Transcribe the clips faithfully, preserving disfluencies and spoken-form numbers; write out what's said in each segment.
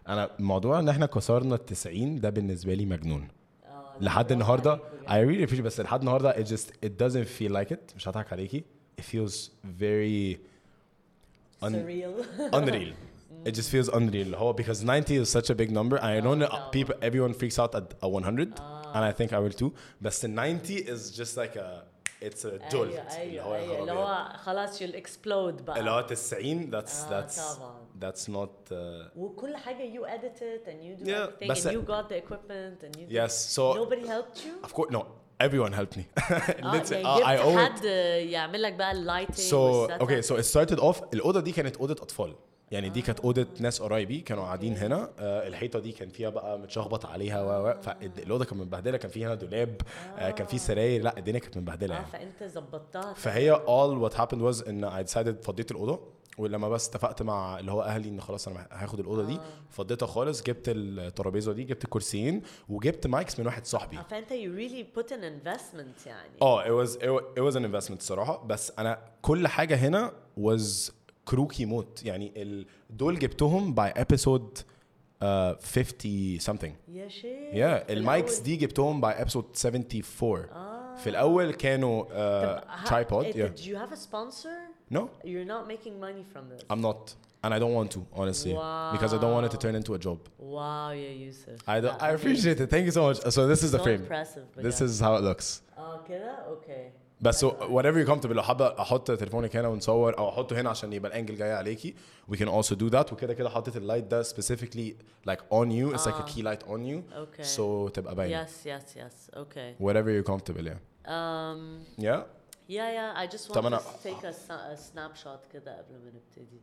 انا الموضوع ان احنا كسرنا التسعين ده بالنسبه لي مجنون لحد النهارده. I really appreciate بس لحد النهارده it just it doesn't feel like it. مش هضحك عليكي, it feels very un- surreal. unreal. It just feels unreal. هو because ninety is such a big number. I know that people everyone freaks out at a one hundred and I think I will too. But the ninety is just like a it's a jolt. ايوه ايوه اللي هو خلاص you'll explode بقى. اللي هو تسعين that's that's طبعا. that's not. Uh, وكل حاجة you edit it and you do Yeah, everything بس- and you got the equipment and you. yes. So Nobody helped you. of course no. Everyone helped me. اه Let's- يعني uh, I جبت owe it. حد يعمل لك بقى اللايتنج. So okay, so it started off. الأوضة دي كانت أوضة أطفال. يعني دي كانت أوضة ناس قرايبي كانوا قاعدين هنا. آه الحيطة دي كان فيها بقى متشخبط عليها و و فالأوضة كانت متبهدلة. كان فيها هنا دولاب. آه كان في سراير. لا الدنيا كانت متبهدلة اه يعني. فانت ظبطتها. فهي all what happened was إن I decided فضيت الأوضة. ولما بس اتفقت مع اللي هو اهلي ان خلاص انا هاخد الاوضه دي فضيتها خالص. جبت الترابيزه دي, جبت الكرسيين, وجبت مايكس من واحد صاحبي. اه فانت you really put an investment يعني. اه it was it was, it was an investment صراحه. بس انا كل حاجه هنا was كروكي موت يعني. ال- دول جبتهم by episode uh, fifty something. يا شيخ. yeah المايكس دي جبتهم by episode seventy-four. آه. في الاول كانوا uh, tripod. It, yeah Did you have a sponsor? no You're not making money from this. I'm not and I don't want to honestly Wow. because I don't want it to turn into a job. Wow, yeah, Yusuf. I don't, I appreciate it. Thank you so much. So this is the So frame. impressive. But This yeah. is how it looks. اه كده اوكي. بس so whatever you're comfortable. لو حابة أحط تليفونك هنا ونصور أو أحطه هنا عشان يبقى الأنجل جاي عليكي. We can also do that. وكده كده حطيت اللايت ده specifically like on you. It's like a key light on you. Okay. So تبقى باينة. Yes, yes, yes. Okay. Whatever you're comfortable. Yeah. Um. Yeah. Yeah, yeah. I just want طب to أنا- take a, sa- a snapshot كده قبل ما نبتدي.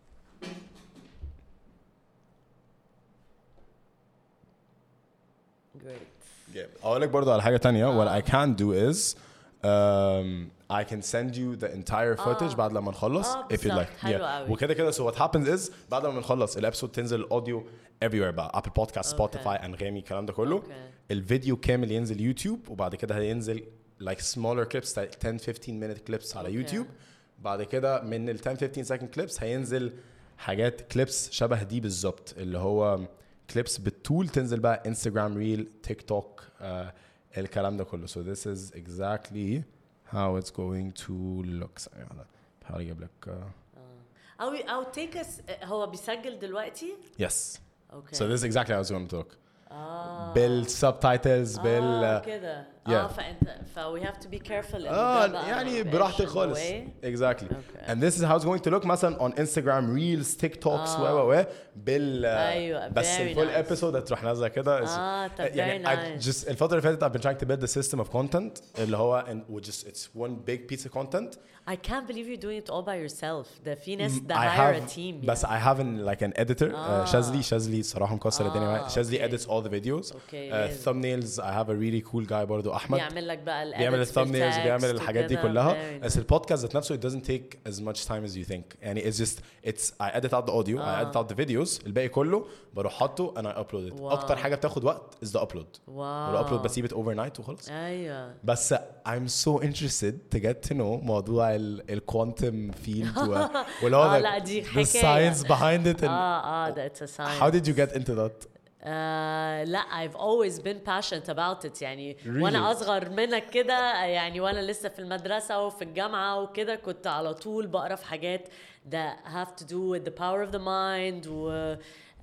Great. Yeah. أقول لك برضو على حاجة تانية. What I can do is um, I can send you the entire footage بعد لما نخلص آه، if you'd بالظبط. like. حلو قوي. وكده كده so what happens is بعد لما نخلص الابسود تنزل الاوديو everywhere بقى Apple Podcast, Spotify, أنغامي الكلام ده كله. Okay. الفيديو كامل ينزل يوتيوب وبعد كده هينزل like smaller clips like ten fifteen minute clips على Okay. يوتيوب. بعد كده من ال ten fifteen second clips هينزل حاجات clips شبه دي بالظبط اللي هو clips بالطول تنزل بقى انستغرام ريل تيك توك الكلام ده كله. So this is exactly how it's going to look. بحاول اجيب لك uh, أو أو take us. هو بيسجل دلوقتي؟ yes. Okay. So this is exactly how it's going to look. آه. بالسبتايتلز بال آه كده. yeah. اه فانت ف we have to be careful. إن اه ده بقى يعني ما يبقاش براحتك in the خالص. way. exactly. Okay. And this is how it's going to look مثلا on Instagram reels TikToks و و و بال أيوة, بس very الفول nice. episode هتروح نازله كده. آه، طب يعني very I nice. just الفترة اللي فاتت I've been trying to build the system of content اللي هو and we just it's one big piece of content. I can't believe you're doing it all by yourself. ده في ناس I ده hire a have team. بس I have an, like an editor. آه. uh, شاذلي شاذلي صراحة مكسر الدنيا معايا. آه، شاذلي okay. edits all the videos. Okay, uh, amazing. thumbnails I have a really cool guy برضو أحمد. بيعمل لك بقى ال بيعمل edits في الثامبنيلز الtext بيعمل الحاجات دي وكده. كلها. Very بس nice. البودكاست ذات نفسه it doesn't take as much time as you think. يعني it's just it's I edit out the audio I edit out the videos. الباقي كله بروح حاطه and I upload it. Wow. أكتر حاجة بتاخد وقت is the upload. واو. والupload بسيب it overnight وخلاص. ايوه. بس I'm so interested to get to know موضوع ال ال quantum field و واللي هو آه، the- لا، دي the حكاية. science behind it and اه اه that's a science. how did you get into that? آه لا I've always been passionate about it يعني. Really? وانا اصغر منك كده يعني وانا لسه في المدرسة وفي الجامعة وكده كنت على طول بقرا في حاجات that have to do with the power of the mind و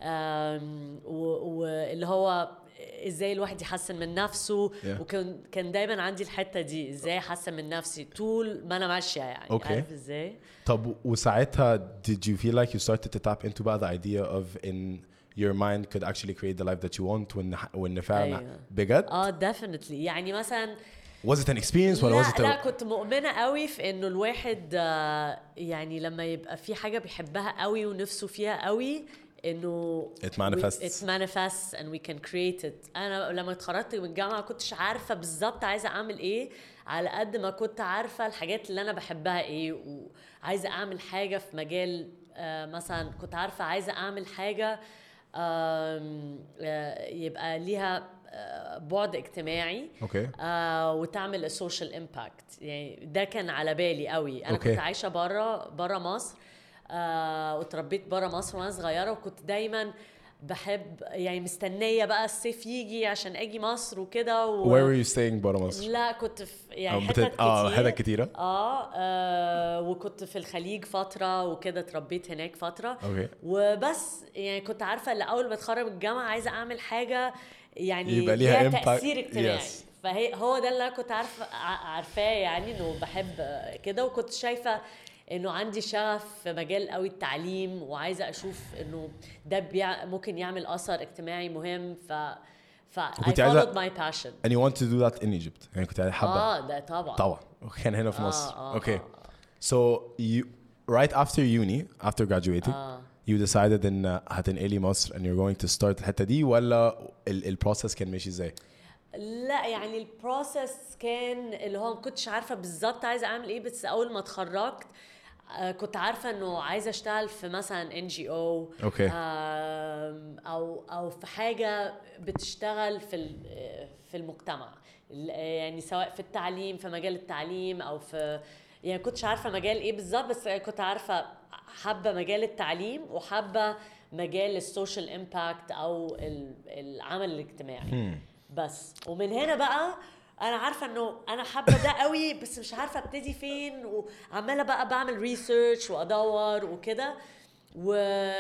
آم، و- واللي هو ازاي الواحد يحسن من نفسه. Yeah. وكان كان دايما عندي الحتة دي ازاي احسن من نفسي طول ما انا ماشية يعني. Okay. عارف ازاي؟ طب وساعتها did you feel like you started to tap into بقى the idea of in your mind could actually create the life that you want وإن وإن فعلا أيوة. بجد؟ اه definitely يعني مثلا Was it an experience ولا was لا it a... لا كنت مؤمنة قوي في انه الواحد آه، يعني لما يبقى في حاجة بيحبها قوي ونفسه فيها قوي انه It manifests. we, it manifests and we can create it. انا لما اتخرجت من الجامعة كنتش عارفة بالظبط عايزة اعمل ايه على قد ما كنت عارفة الحاجات اللي انا بحبها ايه وعايزة اعمل حاجة في مجال آه، مثلا كنت عارفة عايزة اعمل حاجة آم، آه، يبقى ليها آه، بعد اجتماعي. Okay. آه وتعمل السوشيال امباكت يعني ده كان على بالي قوي. انا Okay. كنت عايشه بره بره مصر آه وتربيت بره مصر وانا صغيره وكنت دايما بحب يعني مستنيه بقى الصيف يجي عشان اجي مصر وكده و... Where were you staying برا مصر؟ لا كنت في يعني أو حتت بتت- اه كتير حتت كتيرة. آه, اه وكنت في الخليج فتره وكده اتربيت هناك فتره. اوكي. وبس يعني كنت عارفه ان اول ما اتخرج من الجامعه عايزه اعمل حاجه يعني يبقى ليها impact. تاثير اجتماعي. Yes. فهي هو ده اللي انا كنت عارفه ع- عارفاه يعني انه بحب كده. وكنت شايفه انه عندي شغف في مجال قوي التعليم وعايزه اشوف انه ده بيع ممكن يعمل اثر اجتماعي مهم. ف ف I كنت عايزة- followed my passion. And you want to do that in Egypt. يعني كنت حابة. اه ده طبعا طبعا. كان هنا في آه مصر. آه Okay. آه. So you right after uni, after graduating, آه. you decided ان هتنقلي مصر and you're going to start الحتة دي ولا ال البروسس كان ماشي ازاي؟ لا يعني البروسس كان اللي هو ما كنتش عارفه بالظبط عايزه اعمل ايه. بس اول ما اتخرجت آه، كنت عارفه انه عايزه اشتغل في مثلا ان جي او اوكي. او او في حاجه بتشتغل في ال- في المجتمع. ال- يعني سواء في التعليم في مجال التعليم او في يعني كنتش عارفه مجال ايه بالظبط. بس كنت عارفه حابه مجال التعليم وحابه مجال السوشيال امباكت او ال- العمل الاجتماعي. بس ومن هنا بقى انا عارفه انه انا حابه ده قوي بس مش عارفه ابتدي فين. وعماله بقى بعمل ريسيرش وادور وكده و...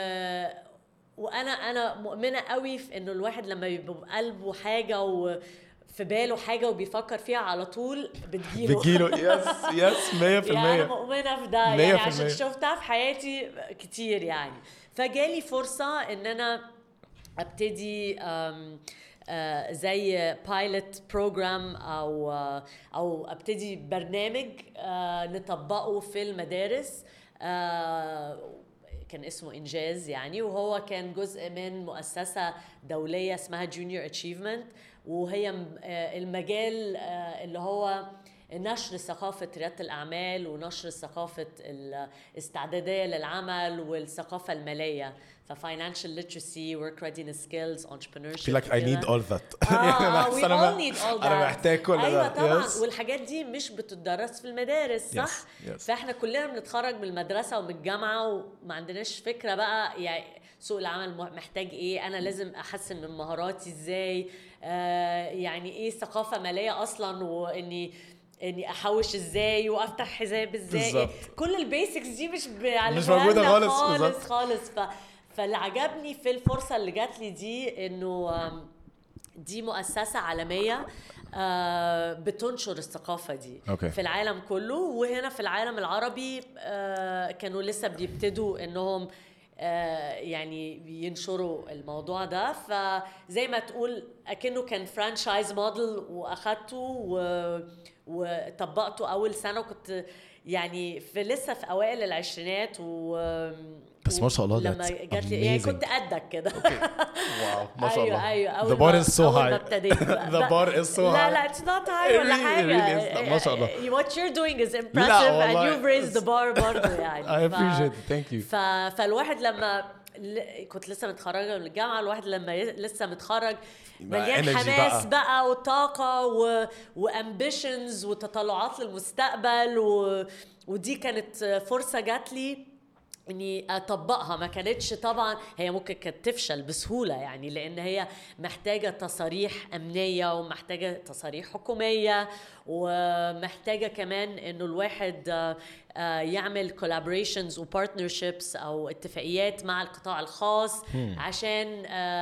وانا انا مؤمنه قوي في انه الواحد لما يبقى بقلبه حاجه وفي باله حاجه وبيفكر فيها على طول بتجيله بتجيله. يس يس مية في يعني المية. انا مؤمنه في ده مية يعني في عشان المية. شفتها في حياتي كتير يعني. فجالي فرصه ان انا ابتدي أم آه زي بايلوت بروجرام او آه او ابتدي برنامج آه نطبقه في المدارس. آه كان اسمه انجاز يعني. وهو كان جزء من مؤسسه دوليه اسمها جونيور اتشيفمنت. وهي آه المجال آه اللي هو نشر ثقافة ريادة الأعمال ونشر ثقافة الاستعدادية للعمل والثقافة المالية. ففاينانشال literacy, work readiness skills, entrepreneurship. feel like I need all that. آه آه we أنا all need all that. أنا محتاج كل ده. أيوة طبعا. Yes. والحاجات دي مش بتدرس في المدارس صح؟ Yes. Yes. فإحنا كلنا بنتخرج من المدرسة ومن الجامعة وما عندناش فكرة بقى يعني سوق العمل محتاج إيه. أنا لازم أحسن من مهاراتي إزاي. آه يعني إيه ثقافة مالية أصلا وإني اني احوش ازاي وافتح حساب ازاي. بالزبط. كل البيسكس دي مش مش موجوده خالص خالص خالص. ف... فاللي عجبني في الفرصه اللي جات لي دي انه دي مؤسسه عالميه بتنشر الثقافه دي okay. في العالم كله. وهنا في العالم العربي كانوا لسه بيبتدوا انهم يعني ينشروا الموضوع ده. فزي ما تقول اكنه كان فرانشايز موديل واخدته و... وطبقته اول سنه. وكنت يعني في لسه في اوائل العشرينات و بس ما شاء الله لما جات لي يعني كنت قدك كده. واو ما شاء الله. ايوه ايوه the bar is so high. ما ابتديت the bar is so high. لا لا it's not high ولا حاجه. ما شاء الله. what you're doing is impressive and you've raised the bar برضه يعني. I appreciate it. Thank you. ف... فالواحد لما كنت لسه متخرجه من الجامعه الواحد لما لسه متخرج مليان حماس بقى, بقى وطاقه و... وامبيشنز وتطلعات للمستقبل و... ودي كانت فرصه جات لي اني اطبقها. ما كانتش طبعا هي ممكن كانت تفشل بسهوله يعني لان هي محتاجه تصاريح امنيه ومحتاجه تصاريح حكوميه ومحتاجه كمان انه الواحد يعمل collaborations وبارتنرشيبس او اتفاقيات مع القطاع الخاص عشان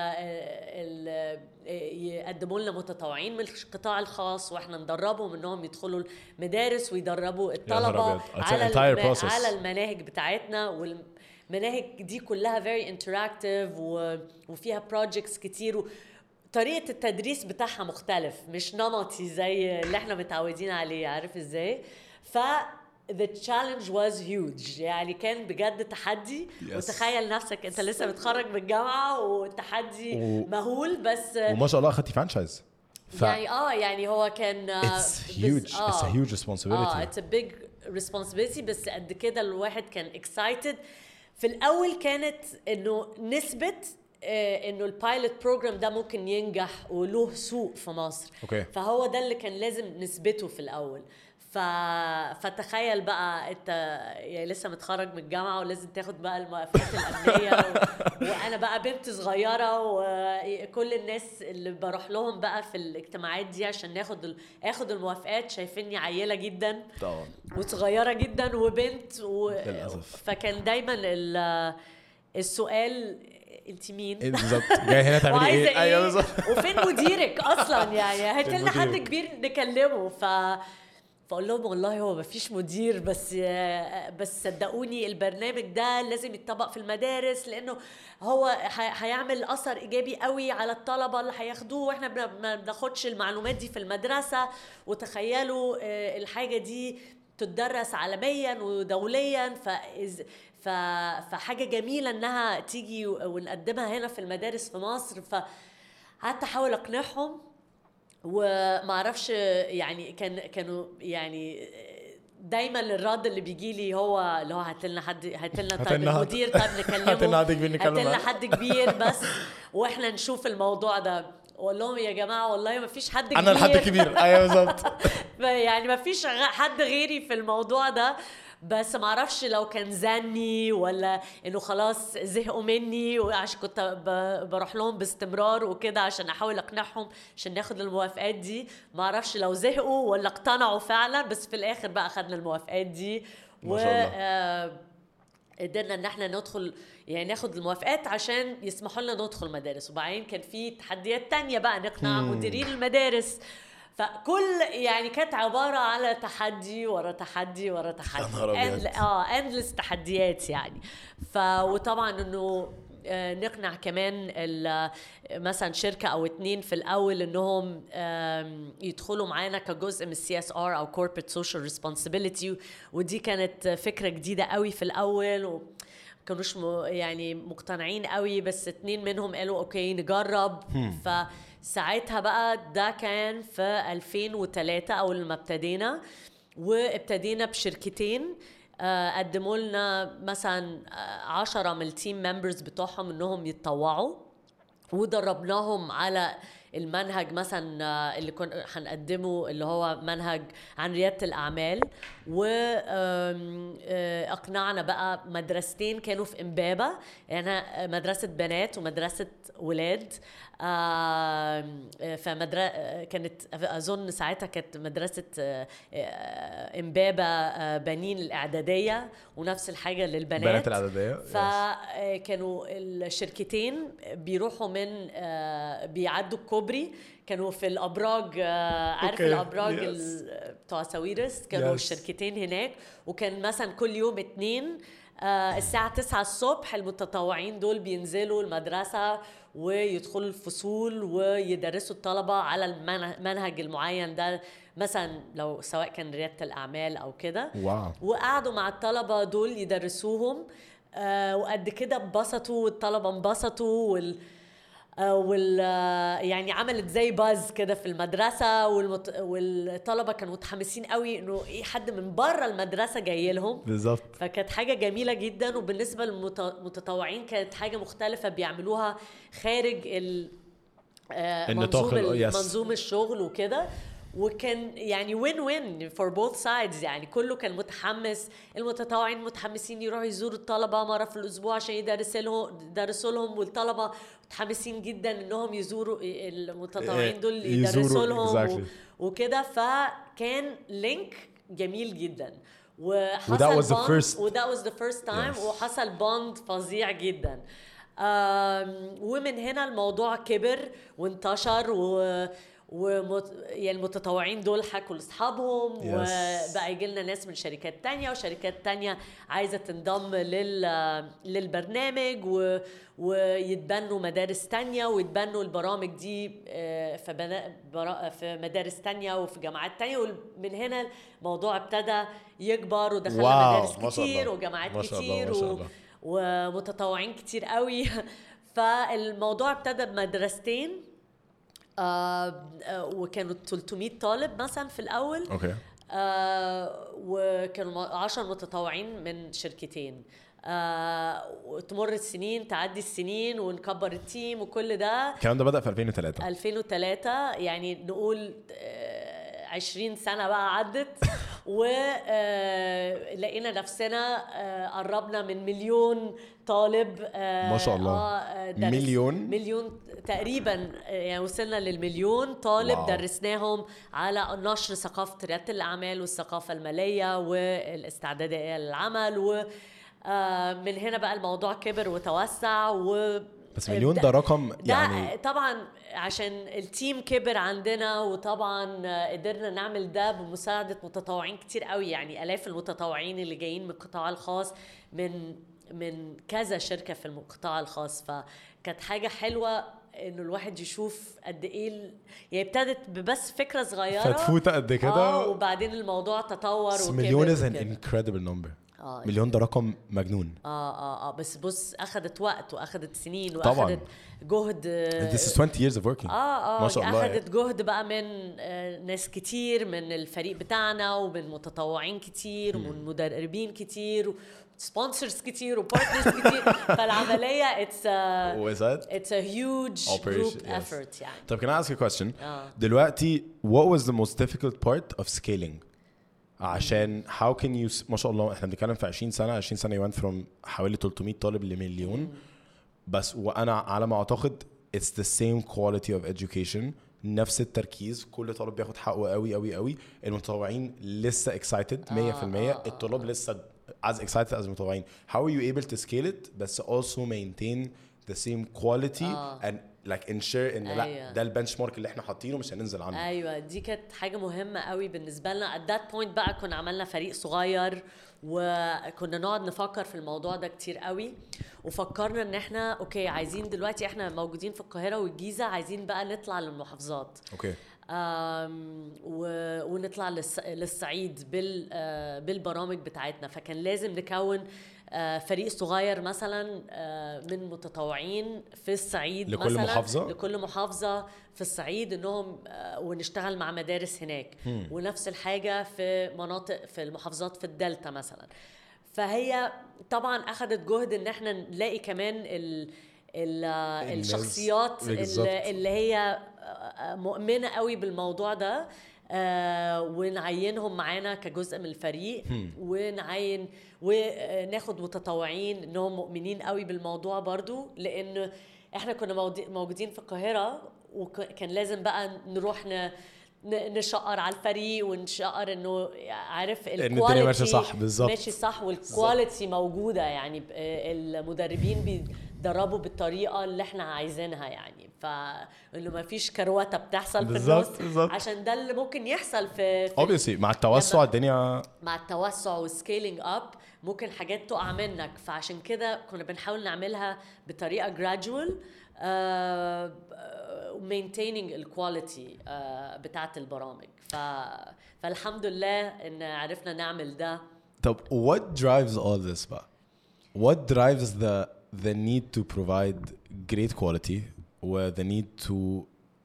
يقدموا لنا متطوعين من القطاع الخاص واحنا ندربهم انهم يدخلوا المدارس ويدربوا الطلبه على الم... على المناهج بتاعتنا. والمناهج دي كلها very interactive و... وفيها projects كتير. طريقه التدريس بتاعها مختلف مش نمطي زي اللي احنا متعودين عليه. عارف ازاي؟ ف the challenge was huge يعني كان بجد تحدي. yes. وتخيل نفسك انت لسه متخرج من الجامعه وتحدي و... مهول. بس وما شاء الله اخدتي فرانشايز. ف... يعني اه يعني هو كان it's huge آه. it's a huge responsibility. اه it's a big responsibility. بس قد كده الواحد كان excited. في الاول كانت انه نسبه آه انه البايلوت بروجرام ده ممكن ينجح وله سوق في مصر. okay. فهو ده اللي كان لازم نثبته في الاول. ف ف... فتخيل بقى انت يعني لسه متخرج من الجامعه ولازم تاخد بقى الموافقات الامنيه و... وانا بقى بنت صغيره وكل الناس اللي بروح لهم بقى في الاجتماعات دي عشان ناخد ال... اخد الموافقات شايفيني عيله جدا طبعا وصغيره جدا وبنت و... للأسف. فكان دايما ال... السؤال انت مين بالظبط جاي هنا تعملي ايه, ايه؟ ايوه بالظبط. وفين مديرك اصلا يعني هات لنا حد مديرك؟ كبير نكلمه. ف فاقول لهم والله هو مفيش مدير بس بس صدقوني البرنامج ده لازم يتطبق في المدارس لانه هو هيعمل اثر ايجابي قوي على الطلبه اللي هياخدوه واحنا ما بناخدش المعلومات دي في المدرسه. وتخيلوا الحاجه دي تدرس عالميا ودوليا فإز ف... فحاجه جميله انها تيجي ونقدمها هنا في المدارس في مصر. فقعدت احاول اقنعهم وما اعرفش يعني كان كانوا يعني دايما الرد اللي بيجي لي هو اللي هو هات لنا حد هات لنا طيب المدير طيب نكلمه هات لنا حد كبير نكلمه هات لنا حد كبير بس واحنا نشوف الموضوع ده. اقول لهم يا جماعه والله ما فيش حد كبير انا الحد كبير ايوه بالظبط يعني ما فيش حد غيري في الموضوع ده. بس ما اعرفش لو كان زني ولا انه خلاص زهقوا مني وعشان كنت بروح لهم باستمرار وكده عشان احاول اقنعهم عشان ناخد الموافقات دي. ما اعرفش لو زهقوا ولا اقتنعوا فعلا بس في الاخر بقى اخذنا الموافقات دي و قدرنا ان احنا ندخل يعني ناخد الموافقات عشان يسمحوا لنا ندخل مدارس. وبعدين كان في تحديات تانية بقى نقنع مديرين المدارس. فكل يعني كانت عبارة على تحدي ورا تحدي ورا تحدي أند... اه اندلس تحديات يعني. ف وطبعا انه نقنع كمان مثلا شركة او اتنين في الاول انهم يدخلوا معانا كجزء من السي اس ار او corporate social responsibility. ودي كانت فكرة جديدة قوي في الاول و كانوش م... يعني مقتنعين قوي بس اتنين منهم قالوا اوكي نجرب. فساعتها بقى ده كان في ألفين وثلاثة اول ما ابتدينا وابتدينا بشركتين قدموا لنا مثلا عشرة من التيم ممبرز بتوعهم انهم يتطوعوا ودربناهم على المنهج مثلا اللي كنا هنقدمه اللي هو منهج عن ريادة الأعمال. وأقنعنا بقى مدرستين كانوا في إمبابة يعني مدرسة بنات ومدرسة ولاد. فمدرسة كانت أظن ساعتها كانت مدرسة إمبابة بنين الإعدادية ونفس الحاجة للبنات بنات الإعدادية. فكانوا الشركتين بيروحوا من بيعدوا الكوبري كانوا في الأبراج عارف okay. الأبراج yes. بتوع ساويرس كانوا yes. الشركتين هناك. وكان مثلا كل يوم اتنين الساعة تسعة الصبح المتطوعين دول بينزلوا المدرسة ويدخلوا الفصول ويدرسوا الطلبة على المنهج المعين ده مثلا لو سواء كان ريادة الأعمال أو كده wow. وقعدوا مع الطلبة دول يدرسوهم وقد كده انبسطوا والطلبة انبسطوا وال وال يعني عملت زي باز كده في المدرسة والمت... والطلبة كانوا متحمسين قوي انه ايه حد من بره المدرسة جاي لهم بالظبط. فكانت حاجة جميلة جدا. وبالنسبة للمتطوعين كانت حاجة مختلفة بيعملوها خارج ال... منظوم منظوم الشغل وكده. وكان يعني وين وين for both sides يعني كله كان متحمس. المتطوعين متحمسين يروحوا يزوروا الطلبة مرة في الأسبوع عشان يدرسوا لهم يدرسوا لهم والطلبة متحمسين جدا إنهم يزوروا المتطوعين دول يدرسوا لهم exactly. وكده. فكان لينك جميل جدا وحصل was the first وده was the first time yes. وحصل بوند فظيع جدا. ومن هنا الموضوع كبر وانتشر و ومت... يعني المتطوعين دول حكوا لاصحابهم yes. وبقى يجي لنا ناس من شركات تانية وشركات تانية عايزة تنضم لل... للبرنامج و... ويتبنوا مدارس تانية ويتبنوا البرامج دي في, بنا... برا... في مدارس تانية وفي جامعات تانية. ومن هنا الموضوع ابتدى يكبر ودخلنا مدارس كتير وجامعات كتير و... ومتطوعين كتير قوي. فالموضوع ابتدى بمدرستين آه وكانوا ثلاثمية طالب مثلا في الأول okay. آه وكانوا عشر متطوعين من شركتين. آه وتمر السنين تعدي السنين ونكبر التيم وكل ده. الكلام ده بدأ في ألفين وثلاثة ألفين وثلاثة يعني نقول آه عشرين سنة بقى عدت ولقينا نفسنا آه، قربنا من مليون طالب آه، ما شاء الله. آه، درس- مليون؟ مليون تقريبا آه، يعني وصلنا للمليون طالب. واو. درسناهم على نشر ثقافة ريادة الأعمال والثقافة المالية والاستعدادية للعمل، و آه، من هنا بقى الموضوع كبر وتوسع. و بس مليون ده رقم يعني يعني طبعا عشان التيم كبر عندنا، وطبعا قدرنا نعمل ده بمساعدة متطوعين كتير قوي، يعني آلاف المتطوعين اللي جايين من القطاع الخاص، من من كذا شركة في القطاع الخاص. فكانت حاجة حلوة انه الواحد يشوف قد ايه ال... يعني ابتدت ببس فكرة صغيرة فتفوتة قد كده اه وبعدين الموضوع تطور وكبر. مليون is an وكده. incredible number. آه مليون ده رقم مجنون. اه اه اه بس بص اخذت وقت واخذت سنين طبعاً. واخذت جهد. This is twenty years of working. اه اه ما شاء الله اخذت جهد بقى من آه ناس كتير من الفريق بتاعنا، ومن متطوعين كتير، ومن مدربين كتير، سبونسرز كتير، وبارتنرز كتير. فالعمليه it's a Was that? it's a huge Operation, group yes. effort يعني. طب can I ask you a question? آه. دلوقتي what was the most difficult part of scaling؟ عشان how can you ما شاء الله احنا بنتكلم في عشرين سنة عشرين سنة you went from حوالي ثلاثمية طالب لمليون. بس وانا على ما اعتقد it's the same quality of education، نفس التركيز، كل طالب بياخد حقه قوي قوي قوي. المتطوعين لسه excited مية في المية. آه، آه، الطلاب لسه as excited as المتطوعين. how are you able to scale it بس also maintain the same quality آه. and like ensure ان لا أيوة. ده البنش مارك اللي احنا حاطينه مش هننزل عنه. ايوه دي كانت حاجه مهمه قوي بالنسبه لنا. at that point بقى كنا عملنا فريق صغير، وكنا نقعد نفكر في الموضوع ده كتير قوي، وفكرنا ان احنا اوكي عايزين دلوقتي احنا موجودين في القاهره والجيزه، عايزين بقى نطلع للمحافظات. اوكي. آم و- ونطلع للص- للصعيد بال آه، بالبرامج بتاعتنا. فكان لازم نكون آه، فريق صغير مثلا آه، من متطوعين في الصعيد لكل مثلا محافظة؟ لكل محافظة في الصعيد، انهم آه، ونشتغل مع مدارس هناك. ونفس الحاجة في مناطق في المحافظات في الدلتا مثلا. فهي طبعا اخذت جهد ان احنا نلاقي كمان ال ال الناس- الشخصيات بالظبط. اللي اللي هي مؤمنة قوي بالموضوع ده، آه ونعينهم معانا كجزء من الفريق. ونعين وناخد متطوعين انهم مؤمنين قوي بالموضوع برضو، لان احنا كنا موجود- موجودين في القاهرة، وكان لازم بقى نروح ن ن- نشقر على الفريق ونشقر انه عارف الدنيا ماشية صح. بالظبط. ماشي صح، والكواليتي موجودة يعني. ب- المدربين بيدربوا بالطريقة اللي احنا عايزينها يعني. فانه ما فيش كروته بتحصل في بالظبط، النص، بالظبط. عشان ده اللي ممكن يحصل في, في obviously مع التوسع لما- الدنيا مع التوسع والسكيلينج اب ممكن حاجات تقع منك. فعشان كده كنا بنحاول نعملها بطريقه gradual uh, maintaining الكواليتي uh, بتاعت البرامج. ف... فالحمد لله ان عرفنا نعمل ده. طب what drives all this بقى؟ what drives the the need to provide great quality و the need to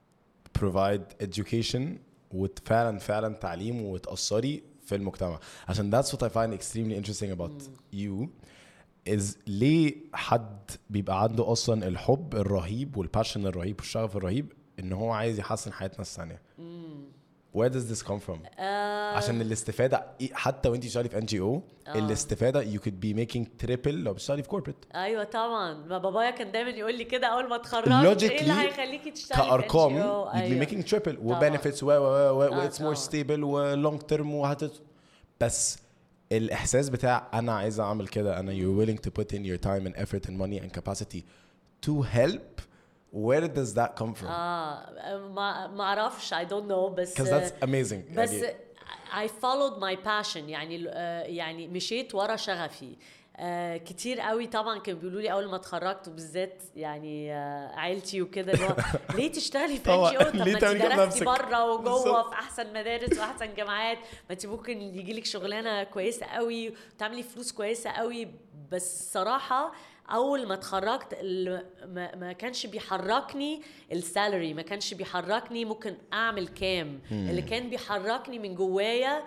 provide education وفعلا فعلا تعليم وتأثري في المجتمع؟ عشان that's what I find extremely interesting about you is ليه حد بيبقى عنده أصلا الحب الرهيب والباشن الرهيب والشغف الرهيب إن هو عايز يحسن حياة ناس ثانية؟ where does this come from؟ آه عشان الاستفادة حتى وانتي شغالة في إن جي أو الاستفادة you could be making triple لو بتشتغلي في corporate. ايوه طبعا. ما بابايا كان دايما يقول لي كده اول ما اتخرجت، ايه اللي هيخليكي تشتغلي كأرقام في إن جي أو؟ you'd be أيوة. making triple و طبعاً. benefits و و و و آه، it's more طبعاً. stable و long term وهت بس الإحساس بتاع أنا عايز أعمل كده، أنا you're willing to put in your time and effort and money and capacity to help. where does that come from؟ اه ما ما اعرفش I don't know بس because that's amazing. بس يعني I followed my passion يعني آه، يعني مشيت ورا شغفي. آه كتير قوي طبعا كانوا بيقولوا لي اول ما اتخرجت، وبالذات يعني آه عيلتي وكده، اللي هو ليه تشتغلي في طبعاً. ان جي او؟ طب ليه ما تعملي انت كده درستي بنفسك؟ بره وجوه بالظبط. في احسن مدارس واحسن جامعات، ما انت ممكن يجي لك شغلانه كويسه قوي وتعملي فلوس كويسه قوي. بس صراحه اول ما اتخرجت ال- ما, ما كانش بيحركني السالري، ما كانش بيحركني ممكن اعمل كام. اللي كان بيحركني من جوايا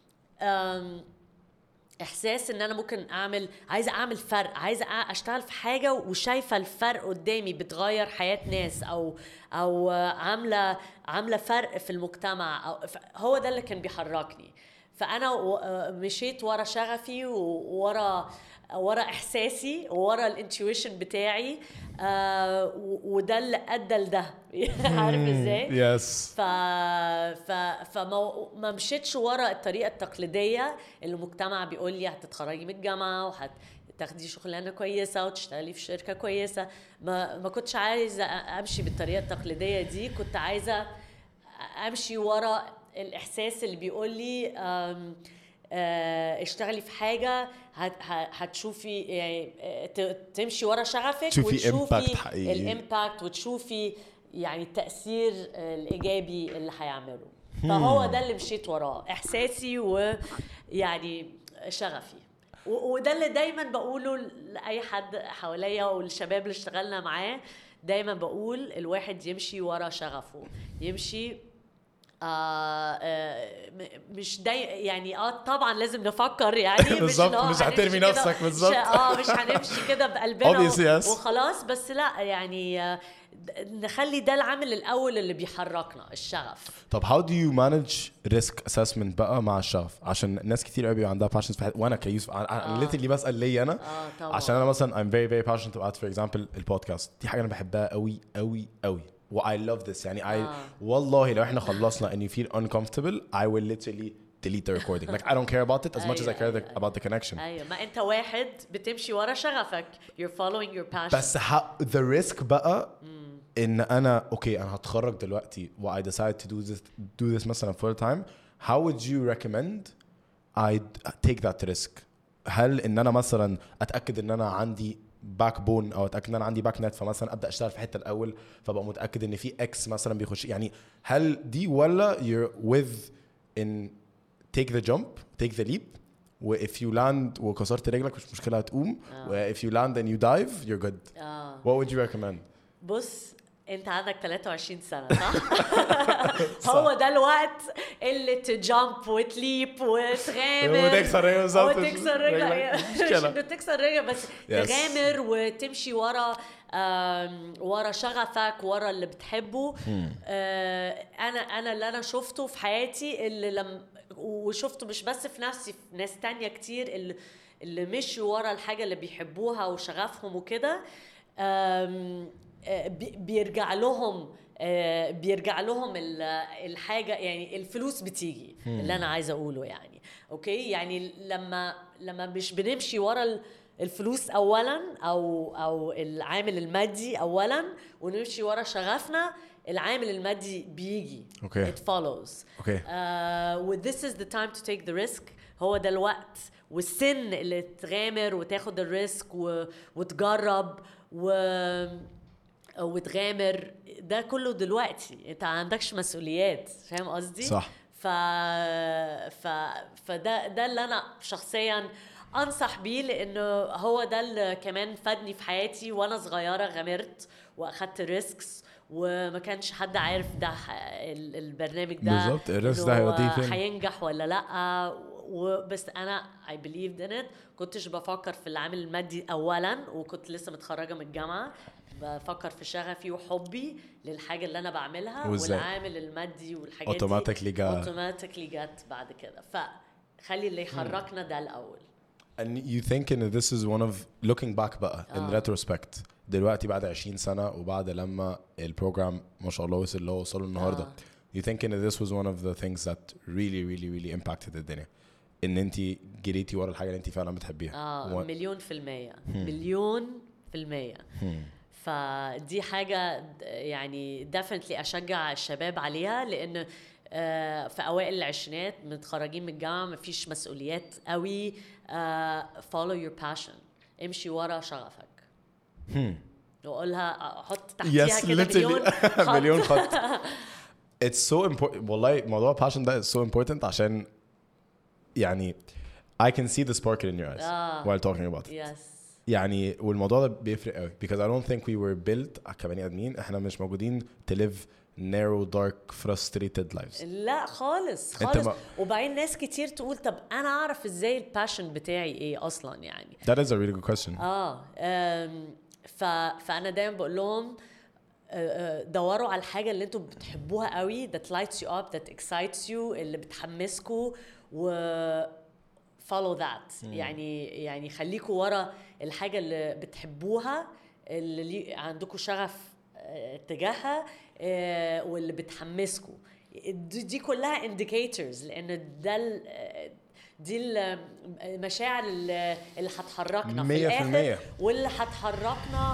أم، احساس ان انا ممكن اعمل، عايزه اعمل فرق، عايزه أ- اشتغل في حاجه وشايفه الفرق قدامي بتغير حياه ناس، او او عامله عامله فرق في المجتمع، أو ف- هو ده اللي كان بيحركني. فانا مشيت ورا شغفي وورا ورا احساسي وورا الانتويشن بتاعي. آه وده اللي ادى لده. عارف ازاي؟ يس. ف ف فما ما مشيتش ورا الطريقه التقليديه اللي المجتمع بيقول لي هتتخرجي من الجامعه وهت تاخدي شغلانه كويسه وتشتغلي في شركه كويسه. ما ما كنتش عايزه امشي بالطريقه التقليديه دي، كنت عايزه امشي ورا الاحساس اللي بيقول لي اشتغلي في حاجه هتشوفي يعني تمشي ورا شغفك وتشوفي الامباكت وتشوفي يعني التاثير الايجابي اللي هيعمله. فهو ده اللي مشيت وراه، احساسي ويعني شغفي. وده اللي دايما بقوله لاي حد حواليا والشباب اللي اشتغلنا معاه، دايما بقول الواحد يمشي ورا شغفه، يمشي آه آه مش داي يعني اه طبعا لازم نفكر يعني بالظبط، مش هترمي نفسك بالظبط اه مش هنمشي كده بقلبنا وخلاص، بس لا يعني آه نخلي ده العامل الاول اللي بيحركنا، الشغف. طب how do you manage risk assessment بقى مع الشغف؟ عشان ناس كتير قوي عندها passions في حاجة، وانا كيوسف انا literally بسأل لي انا آه عشان انا مثلا I'm very very passionate about for example البودكاست، دي حاجة انا بحبها قوي قوي قوي و I love this يعني I آه. والله لو احنا خلصنا and you feel uncomfortable I will literally delete the recording like I don't care about it as much as I care أيوة about the connection. ايوه ما انت واحد بتمشي ورا شغفك you're following your passion. بس the risk بقى ان انا اوكي انا هتخرج دلوقتي و I decide to do this do this مثلا full time, how would you recommend I take that risk؟ هل ان انا مثلا اتاكد ان انا عندي باك بون او اتاكد ان انا عندي باك نت، فمثلا ابدا اشتغل في حته الاول فبقى متاكد ان في اكس مثلا بيخش، يعني هل دي ولا you're with in take the jump take the leap و if you land وكسرت رجلك مش مشكله هتقوم و if you land and you dive you're good. آه. what would you recommend؟ بص انت عندك ثلاثة وعشرين سنة صح؟ هو ده الوقت اللي تجامب وتليب وتغامر وتكسر رجل بالظبط وتكسر رجل مش انه تكسر رجل بس yes. تغامر وتمشي ورا ورا شغفك ورا اللي بتحبه. آه انا انا اللي انا شفته في حياتي اللي لم وشفته مش بس في نفسي، في ناس تانية كتير اللي اللي مشوا ورا الحاجة اللي بيحبوها وشغفهم وكده بيرجع لهم بيرجع لهم الحاجة، يعني الفلوس بتيجي اللي أنا عايزة أقوله يعني أوكي. يعني لما لما مش بنمشي ورا الفلوس أولا أو أو العامل المادي أولا ونمشي ورا شغفنا، العامل المادي بيجي okay. it follows okay. uh, with this is the time to take the risk. هو ده الوقت والسن اللي تغامر وتاخد الريسك وتجرب و وتغامر. ده كله دلوقتي انت عندكش مسؤوليات، فاهم قصدي؟ صح. ف... ف... فده ده اللي انا شخصيا انصح بيه، لانه هو ده اللي كمان فادني في حياتي وانا صغيره. غامرت واخدت ريسكس وما كانش حد عارف ده البرنامج ده بالظبط الريسك ده هيوديه فين، هينجح ولا لا. وبس انا I believed in it. كنتش بفكر في العامل المادي اولا، وكنت لسه متخرجه من الجامعه بفكر في شغفي وحبي للحاجه اللي انا بعملها وزي. والعامل المادي والحاجات دي اوتوماتيكلي جا اوتوماتيكلي جت بعد كده. فخلي اللي يحركنا ده الاول. and you think in this is one of looking back بقى in آه. retrospect دلوقتي بعد عشرين سنة وبعد لما البروجرام ما شاء الله وصل اللي هو وصله النهارده آه. you think in this was one of the things that really really really impacted الدنيا ان انتي جريتي ورا الحاجة اللي انتي فعلا بتحبيها؟ اه و... مليون في المية مليون في المية. فدي حاجة يعني definitely أشجع الشباب عليها، لأن في أوائل العشرينات متخرجين من الجامعة مفيش مسؤوليات قوي. follow your passion، امشي ورا شغفك. وقولها حط تحتيها كده مليون خط. مليون خط. It's so important والله موضوع passion ده is so important عشان يعني I can see the sparkle in your eyes آه. while talking about it. Yes. يعني والموضوع ده بيفرق قوي because I don't think we were built كبني ادمين، احنا مش موجودين to live narrow dark frustrated lives. لا خالص خالص. ما... وبعدين ناس كتير تقول طب انا اعرف ازاي الباشن بتاعي ايه اصلا يعني. That is a really good question. اه ف... فانا دايما بقول لهم دوروا على الحاجه اللي انتوا بتحبوها قوي that lights you up that excites you اللي بتحمسكوا و follow that. يعني يعني خليكوا ورا الحاجة اللي بتحبوها، اللي عندكوا شغف تجاهها واللي بتحمسكوا. دي كلها indicators، لأن ده دي المشاعر اللي هتحركنا في الآخر واللي هتحركنا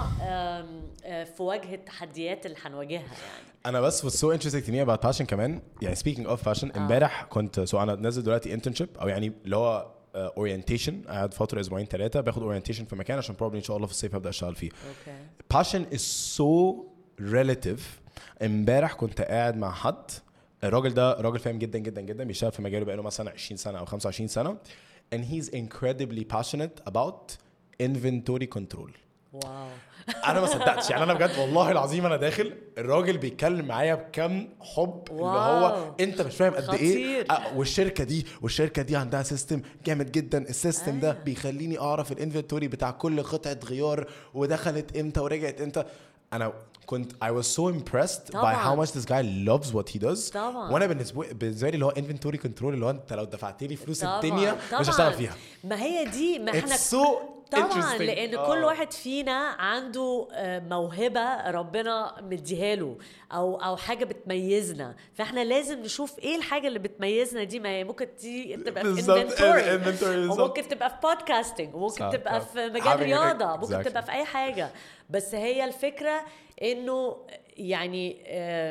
في وجه التحديات اللي هنواجهها. يعني انا بس was so interesting to me about passion كمان. يعني speaking of passion امبارح كنت سو انا نازل دلوقتي internship او يعني اللي هو uh, orientation. قاعد فتره اسبوعين ثلاثه باخد orientation في مكان عشان probably ان شاء الله في الصيف هبدا اشتغل فيه. okay. passion is so relative. امبارح كنت قاعد مع حد، الراجل ده راجل فاهم جدا جدا جدا، بيشتغل في مجاله بقاله مثلا عشرين سنه او خمسة وعشرين سنه and he's incredibly passionate about inventory control. واو. انا ما صدقتش يعني. انا بجد والله العظيم انا داخل الراجل بيتكلم معايا بكم حب. واو. اللي هو انت مش فاهم قد ايه خطير. والشركه دي والشركه دي عندها سيستم جامد جدا. السيستم آه. ده بيخليني اعرف الانفنتوري بتاع كل قطعه غيار ودخلت امتى ورجعت امتى. انا كنت I was so impressed طبعاً. by how much this guy loves what he does. طبعاً. وانا بالنسبه بالنسبه لي اللي هو inventory control اللي هو انت لو دفعت لي فلوس طبعاً. الدنيا طبعاً. مش هشتغل فيها. ما هي دي ما احنا so طبعا لان آه. كل واحد فينا عنده موهبه ربنا مديها له او او حاجه بتميزنا، فاحنا لازم نشوف ايه الحاجه اللي بتميزنا دي. ما هي ممكن تبقى في انفنتوري وممكن تبقى في بودكاستنج وممكن تبقى في مجال رياضه ممكن تبقى في اي حاجه. بس هي الفكره انه يعني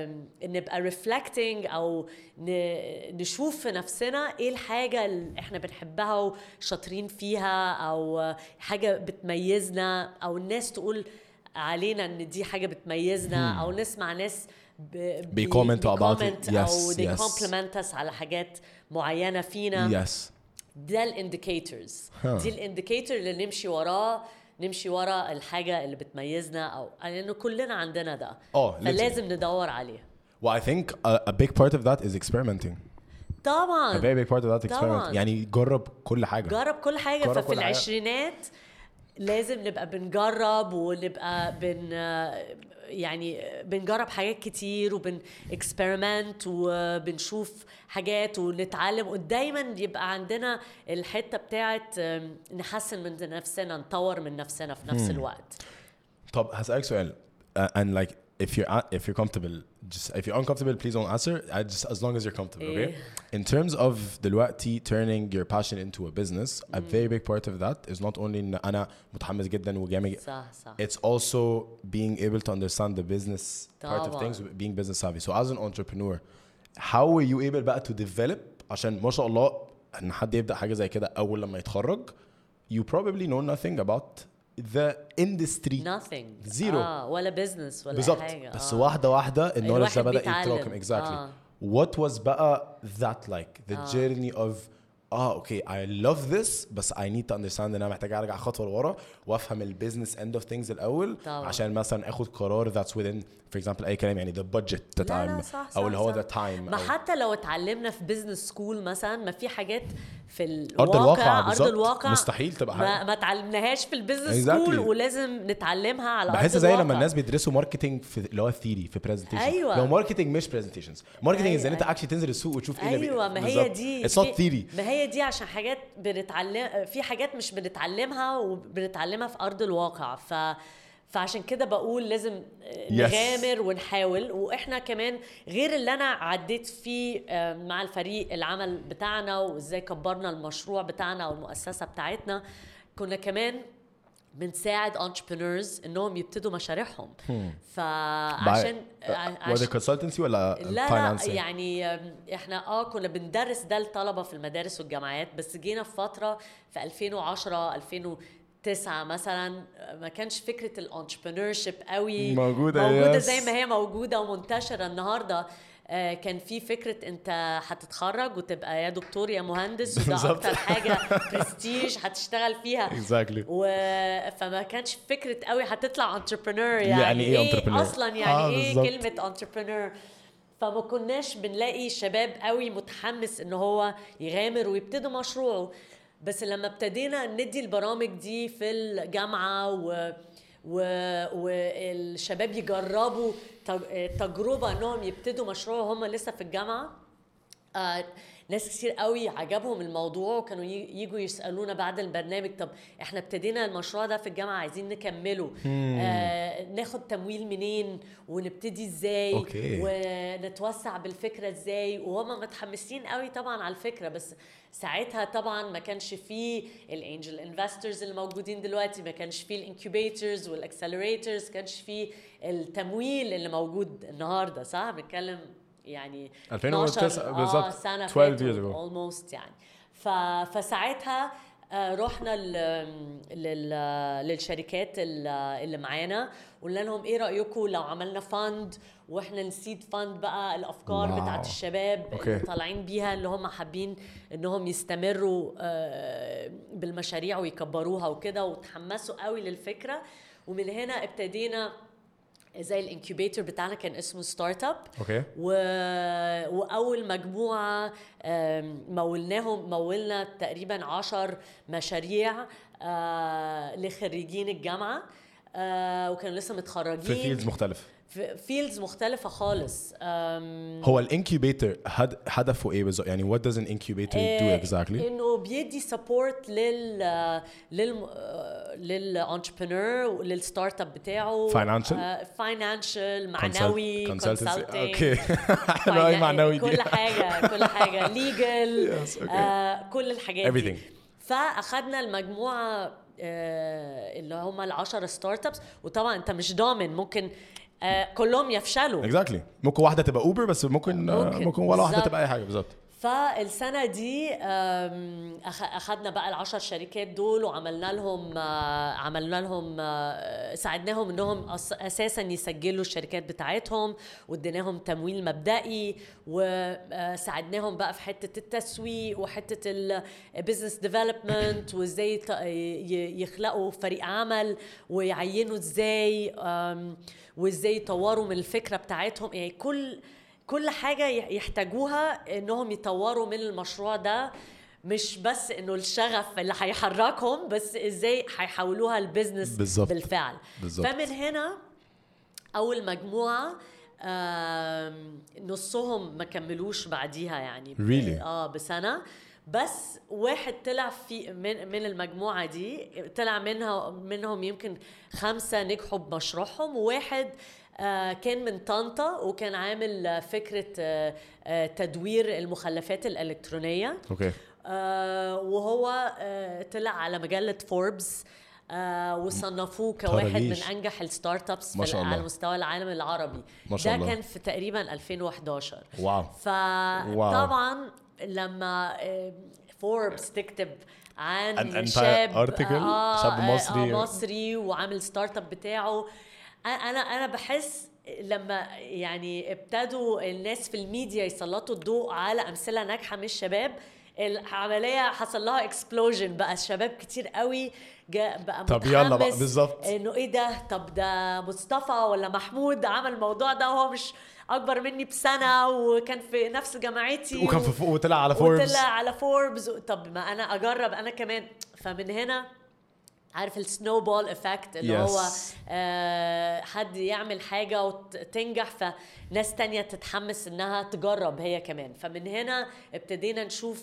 نبقى reflecting او نشوف في نفسنا ايه الحاجه اللي احنا بنحبها وشاطرين فيها او حاجه بتميزنا، او الناس تقول علينا ان دي حاجه بتميزنا، او نسمع ناس بيكومنت about it او they compliment us على حاجات معينه فينا. yes. ده الانديكيتورز دي الانديكيتور اللي نمشي وراه نمشي ورا الحاجة اللي بتميزنا، أو لأنه كلنا عندنا ده oh, فلازم ندور عليه. well I think a, a big part of that is experimenting. طبعا a very big part of that experiment. يعني جرب كل حاجة جرب كل حاجة جرب ففي كل العشرينات حاجة. لازم نبقى بنجرب ونبقى بن يعني بنجرب حاجات كتير وبن experiment وبنشوف حاجات ونتعلم، ودايما يبقى عندنا الحتة بتاعت نحسن من نفسنا نطور من نفسنا في نفس الوقت. طب هسألك سؤال uh, and like if you're if you're comfortable just if you're uncomfortable please don't answer. I just as long as you're comfortable. Okay. In terms of دلوقتي turning your passion into a business, a very big part of that is not only إن أنا متحمس جدا وجامد. صح صح. It's also being able to understand the business part of things, being business savvy. So as an entrepreneur, how were you able بقى to develop عشان ما شاء الله إن حد يبدأ حاجة زي كده أول لما يتخرج you probably know nothing about the industry. nothing. zero. آه ولا business ولا بالزبط. حاجة. بس آه. واحدة واحدة النولج ده بدأ يتراكم. exactly. آه. What was بقى that like the آه. journey of اه okay I love this بس I need to understand ان انا محتاج ارجع خطوة لورا وافهم البيزنس end of things الاول طبعا. عشان مثلا اخد قرار that's within for example اي كلام يعني the budget that I'm او اللي هو the time. ما حتى لو اتعلمنا في business school مثلا ما في حاجات في الواقع أرض الواقع, أرض الواقع مستحيل تبقى ما, ما تعلمناهاش في البيزنس exactly. سكول ولازم نتعلمها على بحس أرض زي الواقع. لما الناس بيدرسوا ماركتينج في اللي هو ثيري في برزنتيشن. أيوة. لو ماركتينج مش برزنتيشنز ماركتينج أيوة. ازاي انت اكشلي تنزل السوق وتشوف ايه اللي أيوة. ما هي دي اتس نوت ثيري. ما هي دي عشان حاجات بنتعلم في حاجات مش بنتعلمها وبنتعلمها في أرض الواقع. ف فعشان كده بقول لازم نغامر ونحاول. واحنا كمان غير اللي انا عديت فيه مع الفريق العمل بتاعنا وازاي كبرنا المشروع بتاعنا والمؤسسة بتاعتنا، كنا كمان بنساعد entrepreneurs انهم يبتدوا مشاريعهم. فعشان وده consultancy ولا لا لا يعني احنا اه كنا بندرس ده للطلبة في المدارس والجامعات، بس جينا في فترة في ألفين وعشرة ألفين وتسعة مثلا ما كانش فكرة الانتربرنورشيب قوي موجودة, موجودة yes. زي ما هي موجودة ومنتشرة النهاردة. آه كان في فكرة انت هتتخرج وتبقى يا دكتور يا مهندس وده اكتر حاجة برستيج هتشتغل فيها exactly. و... فما كانش فكرة قوي هتطلع انتربرنور يعني, يعني ايه, إيه اصلا يعني آه ايه بالزبط. كلمة انتربرنور. فما كناش بنلاقي شباب قوي متحمس ان هو يغامر ويبتدي مشروعه. بس لما ابتدينا ندي البرامج دي في الجامعة و... و... والشباب يجربوا تجربة انهم يبتدوا مشروع هم لسه في الجامعة، آه ناس كتير قوي عجبهم الموضوع وكانوا ييجوا يسألونا بعد البرنامج طب احنا ابتدينا المشروع ده في الجامعة عايزين نكمله آه ناخد تمويل منين ونبتدي ازاي أوكي. ونتوسع بالفكرة ازاي وهم متحمسين قوي طبعا على الفكرة بس ساعتها طبعا ما كانش فيه الانجل انفسترز اللي موجودين دلوقتي ما كانش فيه الانكيوبيترز والاكسلريترز كانش فيه التمويل اللي موجود النهارده صح بنتكلم يعني ألفين وتسعة بالظبط آه سنة اثناشر years ago almost يعني ف... فساعتها آه رحنا ل... لل... للشركات اللي معانا قلنا لهم ايه رأيكم لو عملنا فاند واحنا نسيد فاند بقى الافكار واو. بتاعت الشباب أوكي. اللي طالعين بيها اللي هم حابين انهم يستمروا آه بالمشاريع ويكبروها وكده وتحمسوا قوي للفكرة ومن هنا ابتدينا زي الانكيوبيتور بتاعنا كان اسمه ستارت اب اوكي و... واول مجموعه مولناهم مولنا تقريبا عشر مشاريع لخريجين الجامعه وكانوا لسه متخرجين في فيلدز مختلف في فيلدز مختلفه خالص هو الانكيوبيتور هدفه ايه بالظبط يعني what does an incubator do exactly انه بيدي سبورت لل لل للانتربرنور للستارت اب بتاعه financial فاينانشال معنوي كونسلتنسي اوكي حلو قوي معنوي كل حاجه كل حاجه ليجل كل الحاجات دي فاخدنا المجموعه اللي هم العشر ستارت ابس وطبعا انت مش ضامن ممكن آه كلهم يفشلوا exactly. ممكن واحدة تبقى اوبر بس ممكن ممكن, ممكن ولا واحدة تبقى اي حاجة بالظبط فالسنة دي أخذنا بقى العشر شركات دول وعملنا لهم عملنا لهم ساعدناهم إنهم أساساً يسجلوا الشركات بتاعتهم واديناهم تمويل مبدئي وساعدناهم بقى في حتة التسويق وحتة البيزنس ديفلوبمنت وإزاي يخلقوا فريق عمل ويعينوا إزاي وإزاي يطوروا من الفكرة بتاعتهم يعني كل كل حاجة يحتاجوها انهم يطوروا من المشروع ده مش بس انه الشغف اللي هيحركهم بس ازاي هيحولوها البيزنس بالزبط. بالفعل بالزبط. فمن هنا اول مجموعة نصهم ما كملوش بعديها يعني really? اه بسنة بس واحد طلع في من من المجموعة دي طلع منها منهم يمكن خمسة نجحوا بمشروعهم وواحد آه كان من طنطا وكان عامل فكرة آه آه تدوير المخلفات الإلكترونية اوكي آه وهو آه طلع على مجلة فوربس آه وصنفوه كواحد من أنجح الستارت ابس على مستوى العالم العربي ما شاء ده الله. كان في تقريبا ألفين وإحداشر واو فطبعا لما فوربس تكتب عن An شاب آه شاب مصري آه مصري وعامل ستارت اب بتاعه انا انا بحس لما يعني ابتدوا الناس في الميديا يسلطوا الضوء على امثله ناجحه من الشباب العمليه حصل لها اكسبلوجن بقى الشباب كتير قوي جاء بقى طب يلا بقى بالظبط انه ايه ده طب ده مصطفى ولا محمود عمل الموضوع ده وهو مش اكبر مني بسنه وكان في نفس جامعتي وكان في فوق وطلع على فوربس وطلع على فوربس طب ما انا اجرب انا كمان فمن هنا عارف السنو بول افكت اللي yes. هو آه حد يعمل حاجة وتنجح فناس تانية تتحمس انها تجرب هي كمان فمن هنا ابتدينا نشوف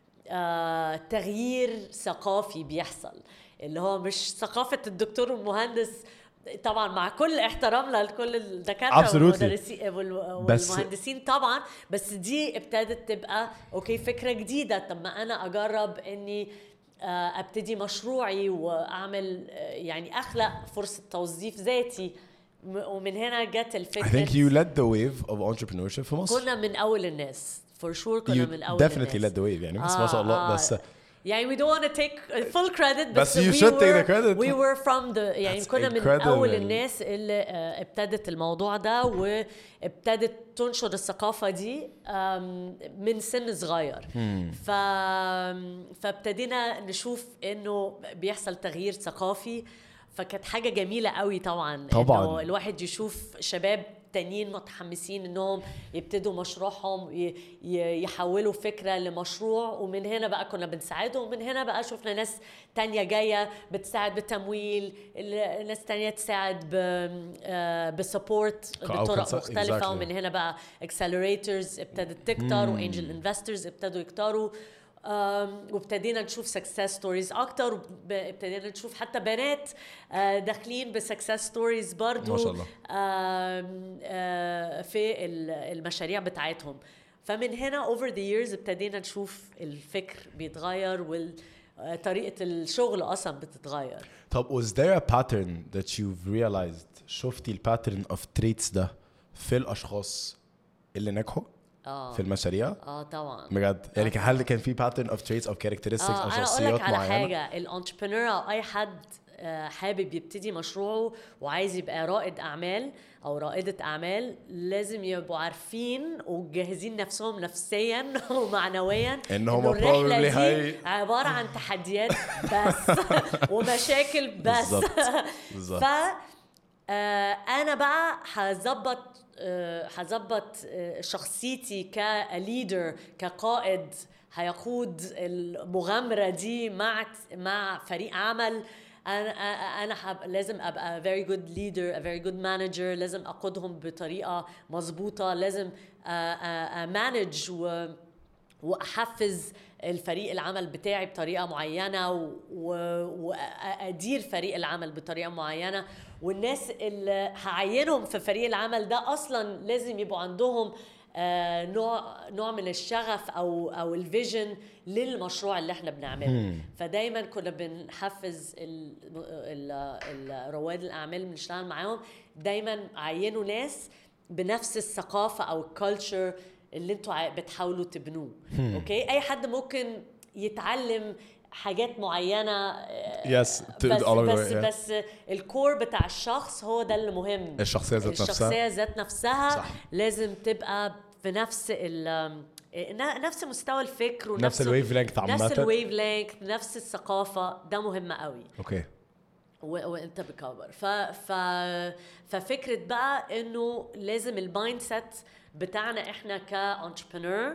آه تغيير ثقافي بيحصل اللي هو مش ثقافة الدكتور والمهندس طبعا مع كل احترامنا لكل الدكاترة والمدرسين والمهندسين طبعا بس دي ابتدت تبقى اوكي فكرة جديدة طب ما انا اجرب اني ابتدي مشروعي واعمل يعني اخلق فرصه توظيف ذاتي ومن هنا جت الفكره I think you led the wave of entrepreneurship في مصر كنا من اول الناس for sure كنا you من اول definitely الناس led the wave يعني بس آه ما شاء الله آه بس يعني we don't want to take full credit بس you we should were, take the credit we were from the يعني That's كنا من أول الناس اللي ابتدت الموضوع ده وابتدت تنشر الثقافة دي من سن صغير hmm. ف... فابتدينا نشوف إنه بيحصل تغيير ثقافي فكانت حاجة جميلة قوي طبعا طبعا إنه الواحد يشوف شباب تانيين متحمسين انهم يبتدوا مشروعهم ي- ي- يحولوا فكرة لمشروع، ومن هنا بقى كنا بنساعدهم. ومن هنا بقى شفنا ناس تانية جاية بتساعد بالتمويل، ال- ناس تانية تساعد بسبورت أو بطرق consult- مختلفة. exactly. ومن هنا بقى accelerators ابتدت تكتر، وانجل انفسترز ابتدوا يكتروا. آم، وابتدينا نشوف سكسس ستوريز اكتر، وابتدينا نشوف حتى بنات آه، داخلين بسكسس ستوريز برضو ما شاء الله. آم، آه، في ال- المشاريع بتاعتهم. فمن هنا over the years ابتدينا نشوف الفكر بيتغير وطريقة الشغل أصلا بتتغير. طب was there a pattern that you've realized شفتي الباترن of traits ده في الاشخاص اللي نجحوا اه في المشاريع؟ اه طبعا بجد يعني كان- هل كان في pattern of traits او characteristics آه او أنا أقول شخصيات لك على معينة؟ حاجة، الانتربرنور أو أي حد آه، حابب يبتدي مشروعه وعايز يبقى رائد أعمال أو رائدة أعمال، لازم يبقوا عارفين وجاهزين نفسهم نفسيا ومعنويا إنهم إنه الرحلة probably دي هي- عبارة عن تحديات بس ومشاكل بس. بالظبط. بالظبط. ف آه، انا بقى هظبط آه، هظبط آه، شخصيتي كليدر كقائد هيقود المغامرة دي مع مع فريق عمل. انا انا حب لازم ابقى very good leader a very good manager، لازم اقودهم بطريقة مظبوطة، لازم مانج و واحفز الفريق العمل بتاعي بطريقه معينه و- و- وادير فريق العمل بطريقه معينه. والناس اللي هعينهم في فريق العمل ده اصلا لازم يبقوا عندهم آه، نوع نوع من الشغف او او الفيجن للمشروع اللي احنا بنعمله. فدايما كنا بنحفز ال- ال- ال- رواد الاعمال اللي بنشتغل معاهم، دايما عينوا ناس بنفس الثقافه او الكالتشر اللي انتوا عا- بتحاولوا تبنوه. اوكي، اي حد ممكن يتعلم حاجات معينه آه، Yes, to- بس all of it, بس yeah. بس الكور بتاع الشخص هو ده اللي مهم. الشخصية ذات نفسها. الشخصيه ذات نفسها صح. لازم تبقى في نفس ال نفس مستوى الفكر ونفس نفس الويف لينث نفس عامة. الويف لينث، نفس الثقافه. ده مهم قوي اوكي. و- وانت بكبر. ف ف ففكره بقى انه لازم المايند سيت بتاعنا احنا كانتربرنور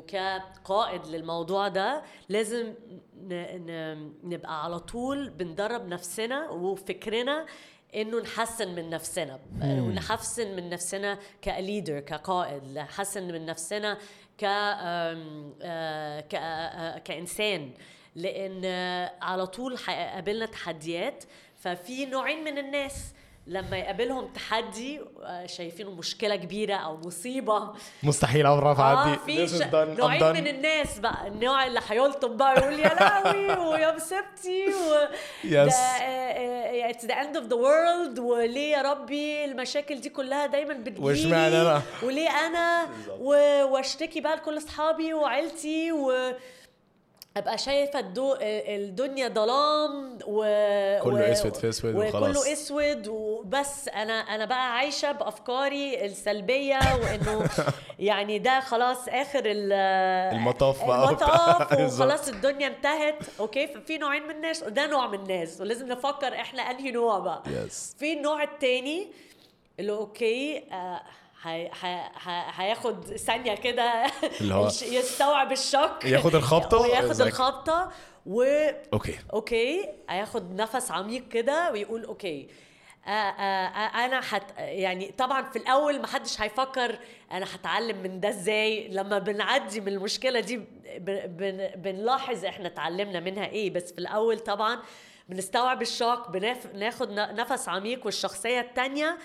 وكقائد للموضوع ده، لازم ن... ن... نبقى على طول بندرب نفسنا وفكرنا انه نحسن من نفسنا ونحسن من نفسنا كليدر كقائد، نحسن من نفسنا ك آم، آه، ك آه، كإنسان، لأن على طول هيقابلنا تحديات. ففي نوعين من الناس لما يقابلهم تحدي آه، شايفينه مشكلة كبيرة أو مصيبة، مستحيل عمرها تعدي. اه في This is ش... done. I'm نوعين done. من الناس بقى. النوع اللي هيلطم بقى يقول يا لهوي ويا مصيبتي و Yes. ده- آه، آه، it's the end of the world، وليه يا ربي المشاكل دي كلها دايما بتجيلي، واشمعنى أنا؟ وليه انا و- واشتكي بقى لكل اصحابي وعيلتي و ابقى شايفه الدو... الدنيا ظلام و... كله و... أسود في أسود وخلاص. وكله اسود وبس. انا انا بقى عايشه بافكاري السلبيه وانه يعني ده خلاص اخر ال... المطاف بقى المطاف وبتاع. بالظبط. وخلاص الدنيا انتهت. اوكي، ففي نوعين من الناس، وده نوع من الناس ولازم نفكر احنا انهي نوع بقى. Yes. في النوع التاني اللي اوكي آه هي هي هياخد ثانيه كده اللي هو الش- يستوعب الشوك، ياخد الخبطة وياخد زي- الخبطه و اوكي. اوكي هياخد نفس عميق كده ويقول اوكي آه آه آه انا حت يعني طبعا في الاول ما حدش هيفكر انا هتعلم من ده ازاي. لما بنعدي من المشكله دي ب- بن بنلاحظ احنا اتعلمنا منها ايه، بس في الاول طبعا بنستوعب الشوك، بناخد نفس عميق. والشخصيه التانية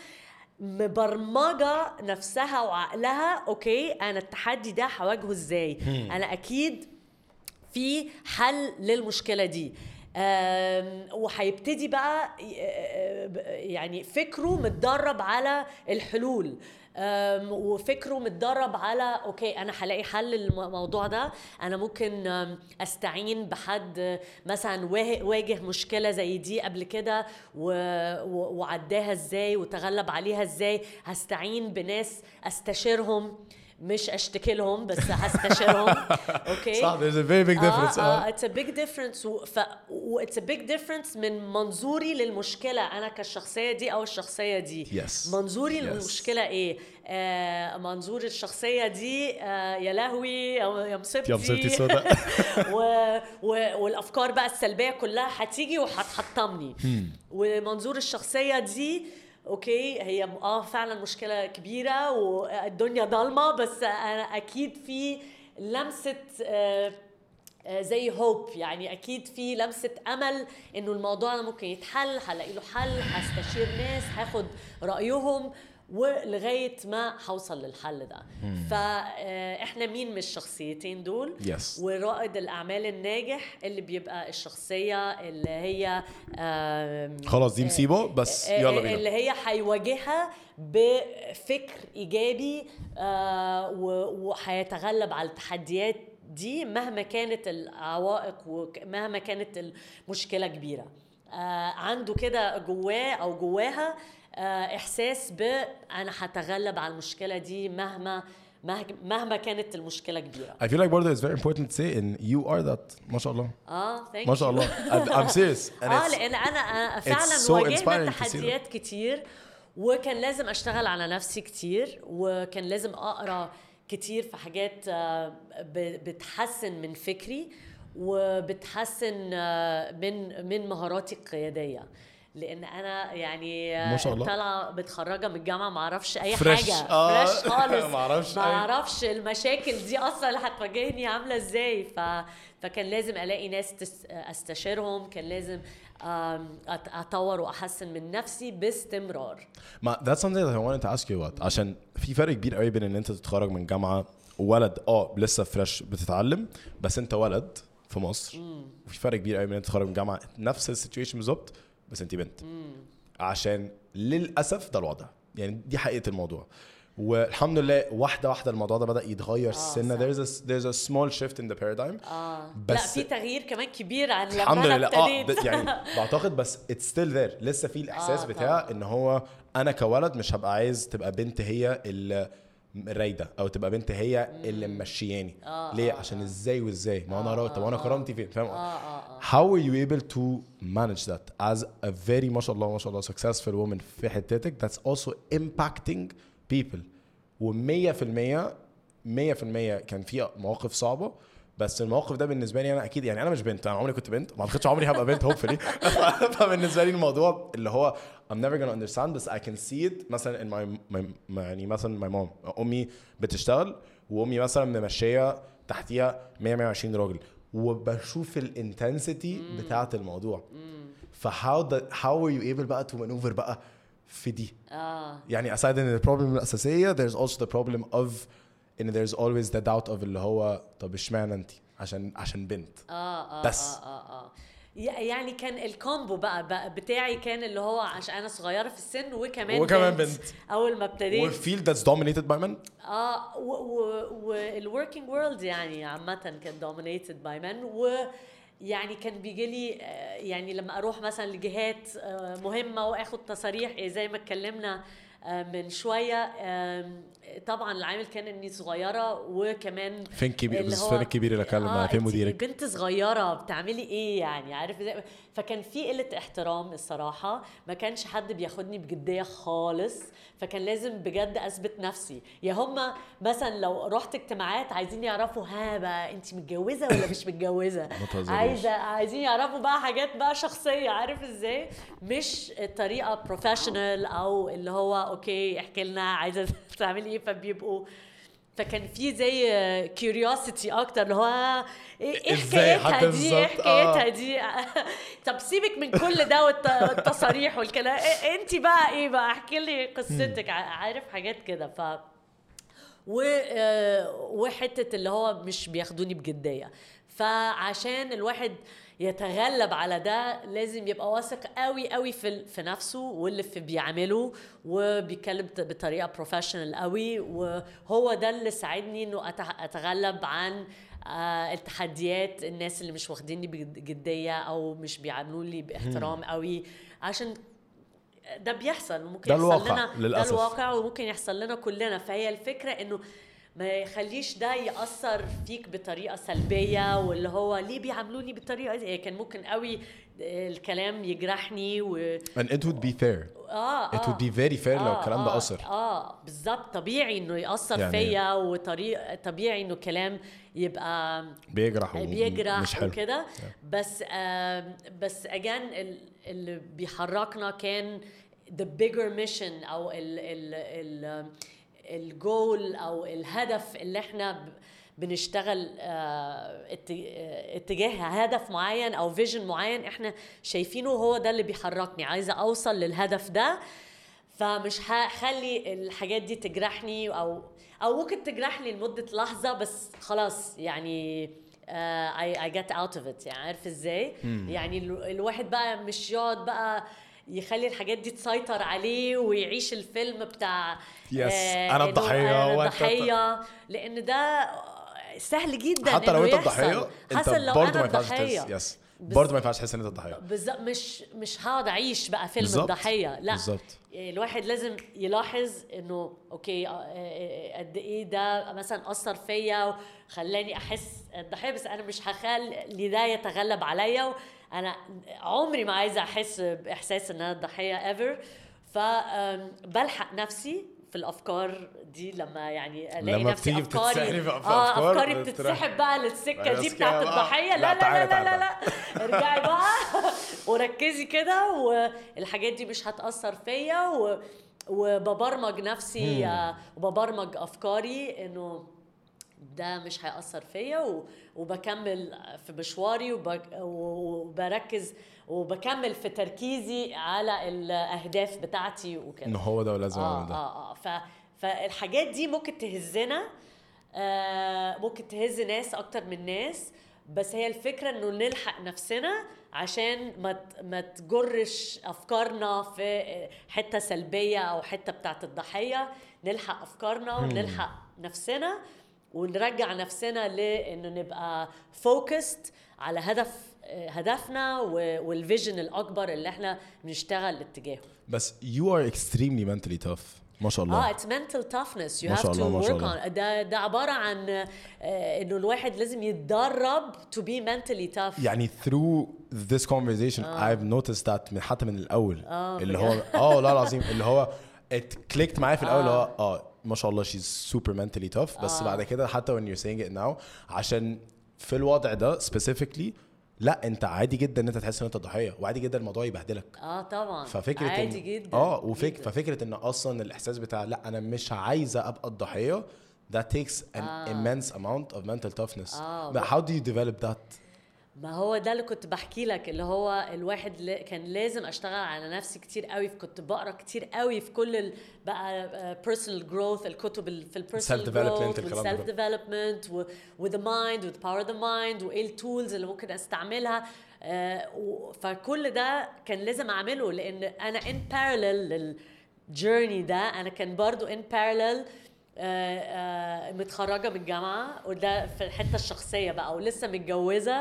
مبرمجة نفسها وعقلها اوكي انا التحدي ده هواجهه ازاي، انا اكيد في حل للمشكلة دي. آم، وهيبتدي بقى ي- يعني فكره متدرب على الحلول، آم، وفكره متدرب على اوكي انا هلاقي حل للموضوع ده. انا ممكن آم، استعين بحد مثلا وا- واجه مشكله زي دي قبل كده و- و- وعداها ازاي وتغلب عليها ازاي. هستعين بناس استشيرهم مش اشتكي لهم بس هستشيرهم. اوكي صح. there's a very big difference. اه اه it's a big difference و, ف, و it's a big difference من منظوري للمشكله انا كالشخصيه دي او الشخصيه دي. yes. منظوري yes. للمشكله ايه؟ آه منظور الشخصيه دي آه يا لهوي أو يا مصيبتي يا مصيبتي سودا. و, و, والافكار بقى السلبيه كلها هتيجي وهتحطمني. ومنظور الشخصيه دي اوكي هي اه فعلا مشكله كبيره والدنيا ضلمه بس انا اكيد في لمسه آه زي هوب يعني اكيد في لمسه امل انه الموضوع ده ممكن يتحل. هلاقي له حل هستشير ناس هاخد رايهم ولغايه ما هوصل للحل ده. فاحنا مين من الشخصيتين دول؟ yes. ورائد الاعمال الناجح اللي بيبقى الشخصيه اللي هي خلاص دي مصيبه بس يلا بينا اللي هي هيواجهها بفكر ايجابي وهيتغلب على التحديات دي مهما كانت العوائق ومهما كانت المشكله كبيره. عنده كده جواه او جواها احساس ب انا هتغلب على المشكله دي مهما مهما كانت المشكله كبيره. I feel like برضه it's very important to say and you are that ما شاء الله. اه thank you ما شاء الله. I'm serious. اه لان انا فعلا so واجهت تحديات كتير وكان لازم اشتغل على نفسي كتير وكان لازم اقرا كتير في حاجات بتحسن من فكري وبتحسن من من مهاراتي القياديه. لان انا يعني طالعه متخرجه من الجامعه ما اعرفش اي فريش. حاجه آه. فريش خالص ما اعرفش ما اعرفش المشاكل دي اصلا اللي هتواجهني عامله ازاي. ف... فكان لازم الاقي ناس تس... استشيرهم. كان لازم اطور واحسن من نفسي باستمرار. ما that's something that I wanted to ask you about. عشان في فرق كبير قوي بين ان انت تتخرج من جامعه وولد اه لسه فريش بتتعلم بس انت ولد في مصر مم. وفي فرق كبير قوي بين ان انت تتخرج من جامعه نفس السيتويشن بالظبط بس انت بنت. مم. عشان للاسف ده الوضع يعني دي حقيقه الموضوع. والحمد لله واحده واحده الموضوع ده بدا يتغير. آه سنه there's a there's a small shift in the paradigm. آه. بس لا في تغيير كمان كبير عن لما الحمد لله اه يعني بعتقد بس it's still there لسه في الاحساس آه بتاع طبعا. ان هو انا كولد مش هبقى عايز تبقى بنت هي اللي رايده او تبقى بنت هي اللي ممشياني. آه ليه؟ آه عشان ازاي وازاي ما انا رايده وانا كرامتي فين فاهم. آه آه how are you able to manage that as a very ما شاء الله ما شاء الله successful woman في حتتك that's also impacting people. ومية في المية مية في المية كان في مواقف صعبة بس الموقف ده بالنسبة لي أنا أكيد يعني أنا مش بنت أنا عمري كنت بنت ما أعتقدش عمري هبقى بنت hopefully. فبالنسبة لي الموضوع اللي هو I'm never gonna understand بس I can see it مثلا in my, my يعني مثلا my mom أمي بتشتغل وأمي مثلا ممشية تحتيها مية مية وعشرين راجل وبشوف الانتنسيتي بتاعة الموضوع. فهاو how are you able بقى to maneuver بقى في دي. آه. يعني aside ان the problem الأساسية there's also the problem of ان there's always the doubt of اللي هو طب اشمعنى انت عشان عشان بنت. آه آه بس آه آه آه. يعني كان الكومبو بقى, بقى بتاعي كان اللي هو عشان انا صغيرة في السن وكمان وكمان بنت, بنت. اول ما ابتديت والفيلد that's dominated by men. اه والworking world يعني عامة كان dominated by men. و يعني كان بيجي لي يعني لما اروح مثلا لجهات مهمه واخد تصاريح زي ما اتكلمنا من شويه طبعا العامل كان اني صغيره وكمان فين كبير بس فين الكبير اللي اتكلم آه فين مديرك بنت صغيره بتعملي ايه يعني عارف ازاي. فكان في قله احترام الصراحه ما كانش حد بياخدني بجديه خالص. فكان لازم بجد اثبت نفسي. يا هم مثلا لو رحت اجتماعات عايزين يعرفوا ها بقى انت متجوزه ولا مش متجوزه عايزه عايزين يعرفوا بقى حاجات بقى شخصيه عارف ازاي مش طريقه بروفيشنال او اللي هو اوكي احكي لنا عايزه تعملي ايه. فبيبقوا فكان في زي كيوريوسيتي اكتر اللي هو ايه حكايتها دي ايه حكايتها دي. طب سيبك من كل ده والتصاريح والكلام انت بقى ايه بقى احكي لي قصتك عارف حاجات كده. ف وحته اللي هو مش بياخدوني بجديه. فعشان الواحد يتغلب على ده لازم يبقى واثق قوي قوي في في نفسه واللي في بيعمله وبيتكلم بطريقه بروفيشنال قوي. وهو ده اللي ساعدني انه اتغلب عن التحديات الناس اللي مش واخديني بجديه او مش بيعاملوني باحترام قوي. عشان ده بيحصل وممكن يحصل لنا للأسف. ده الواقع وممكن يحصل لنا كلنا. فهي الفكره انه ما يخليش ده يأثر فيك بطريقة سلبية، واللي هو ليه بيعاملوني بالطريقة دي. كان ممكن قوي الكلام يجرحني و... and it would be fair. اه it اه would be very fair آه لو الكلام ده آه أثر. اه بالظبط، طبيعي انه يأثر يعني فيا، وطريق طبيعي انه كلام يبقى بيجرح بيجرح مش حلو وكده. بس آه بس اجان اللي بيحركنا كان the bigger mission او ال ال ال الجول او الهدف اللي احنا بنشتغل اتجاه هدف معين او فيجن معين احنا شايفينه، هو ده اللي بيحركني. عايزة اوصل للهدف ده، فمش هخلي الحاجات دي تجرحني او او ممكن تجرحني لمدة لحظة، بس خلاص يعني uh, I, I get out of it. يعني عارف ازاي؟ يعني الواحد بقى مش يقعد بقى يخلي الحاجات دي تسيطر عليه ويعيش الفيلم بتاع yes. آه انا الضحية أنا الضحية، لان ده سهل جدا حتى لو انت الضحية انت برضه ما ينفعش تحس. برضه ما ينفعش تحس ان انت الضحية بالظبط. مش مش هقعد اعيش بقى فيلم بالزبط. الضحية لا بالظبط. الواحد لازم يلاحظ انه اوكي قد ايه ده مثلا اثر فيا وخلاني احس الضحية، بس انا مش هخلي ده يتغلب عليا. انا عمري ما عايزه احس باحساس ان انا الضحيه ever. فبلحق نفسي في الافكار دي لما يعني الاقي نفسي افكاري في اه افكاري بتتسحب بقى للسكه دي بتاعت الضحيه. لا لا لا لا لا, لا. ارجعي بقى وركزي كده، والحاجات دي مش هتاثر فيا، وببرمج نفسي وببرمج افكاري انه ده مش هيأثر فيا، وبكمل في مشواري وبركز وبكمل في تركيزي على الأهداف بتاعتي وكده. إنه هو ده ولازم آه أعمل ده. آه آه ف فالحاجات دي ممكن تهزنا، آه ممكن تهز ناس أكتر من ناس، بس هي الفكرة إنه نلحق نفسنا عشان ما ما تجرش أفكارنا في حتة سلبية أو حتة بتاعت الضحية. نلحق أفكارنا ونلحق نفسنا ونرجع نفسنا لانه نبقى فوكست على هدف هدفنا والفيجن الاكبر اللي احنا بنشتغل اتجاهه. بس you are extremely mentally tough ما شاء الله. اه it's mental toughness you have to work on. ده ده عباره عن انه الواحد لازم يتدرب to be mentally tough. يعني through this conversation آه. I've noticed that من حتى من الاول آه اللي هو اه لا العظيم اللي هو it clicked معايا في الاول اللي هو اه ما شاء الله she's super mentally tough. بس آه. بعد كده حتى when you're saying it now عشان في الوضع ده specifically لا انت عادي جدا ان انت تحس ان انت ضحيه، وعادي جدا الموضوع يبهدلك. اه طبعا ففكره عادي إن جدا اه وفك جداً. ففكره ان اصلا الاحساس بتاع لا انا مش عايزه ابقى الضحيه that takes an آه. immense amount of mental toughness. آه. But how do you develop that؟ ما هو ده اللي كنت بحكي لك، اللي هو الواحد ل... كان لازم اشتغل على نفسي كتير قوي. كنت بقرا كتير قوي في كل ال... بقى personal growth، الكتب ال... في البيرسونال growth والسيلف ديفلوبمنت و... with the mind with power of the mind وايه التولز اللي ممكن استعملها. آه و... فكل ده كان لازم اعمله، لان انا in parallel للجيرني ده انا كان برضو in parallel آه آه متخرجة من الجامعة، وده في الحتة الشخصية بقى، ولسه متجوزة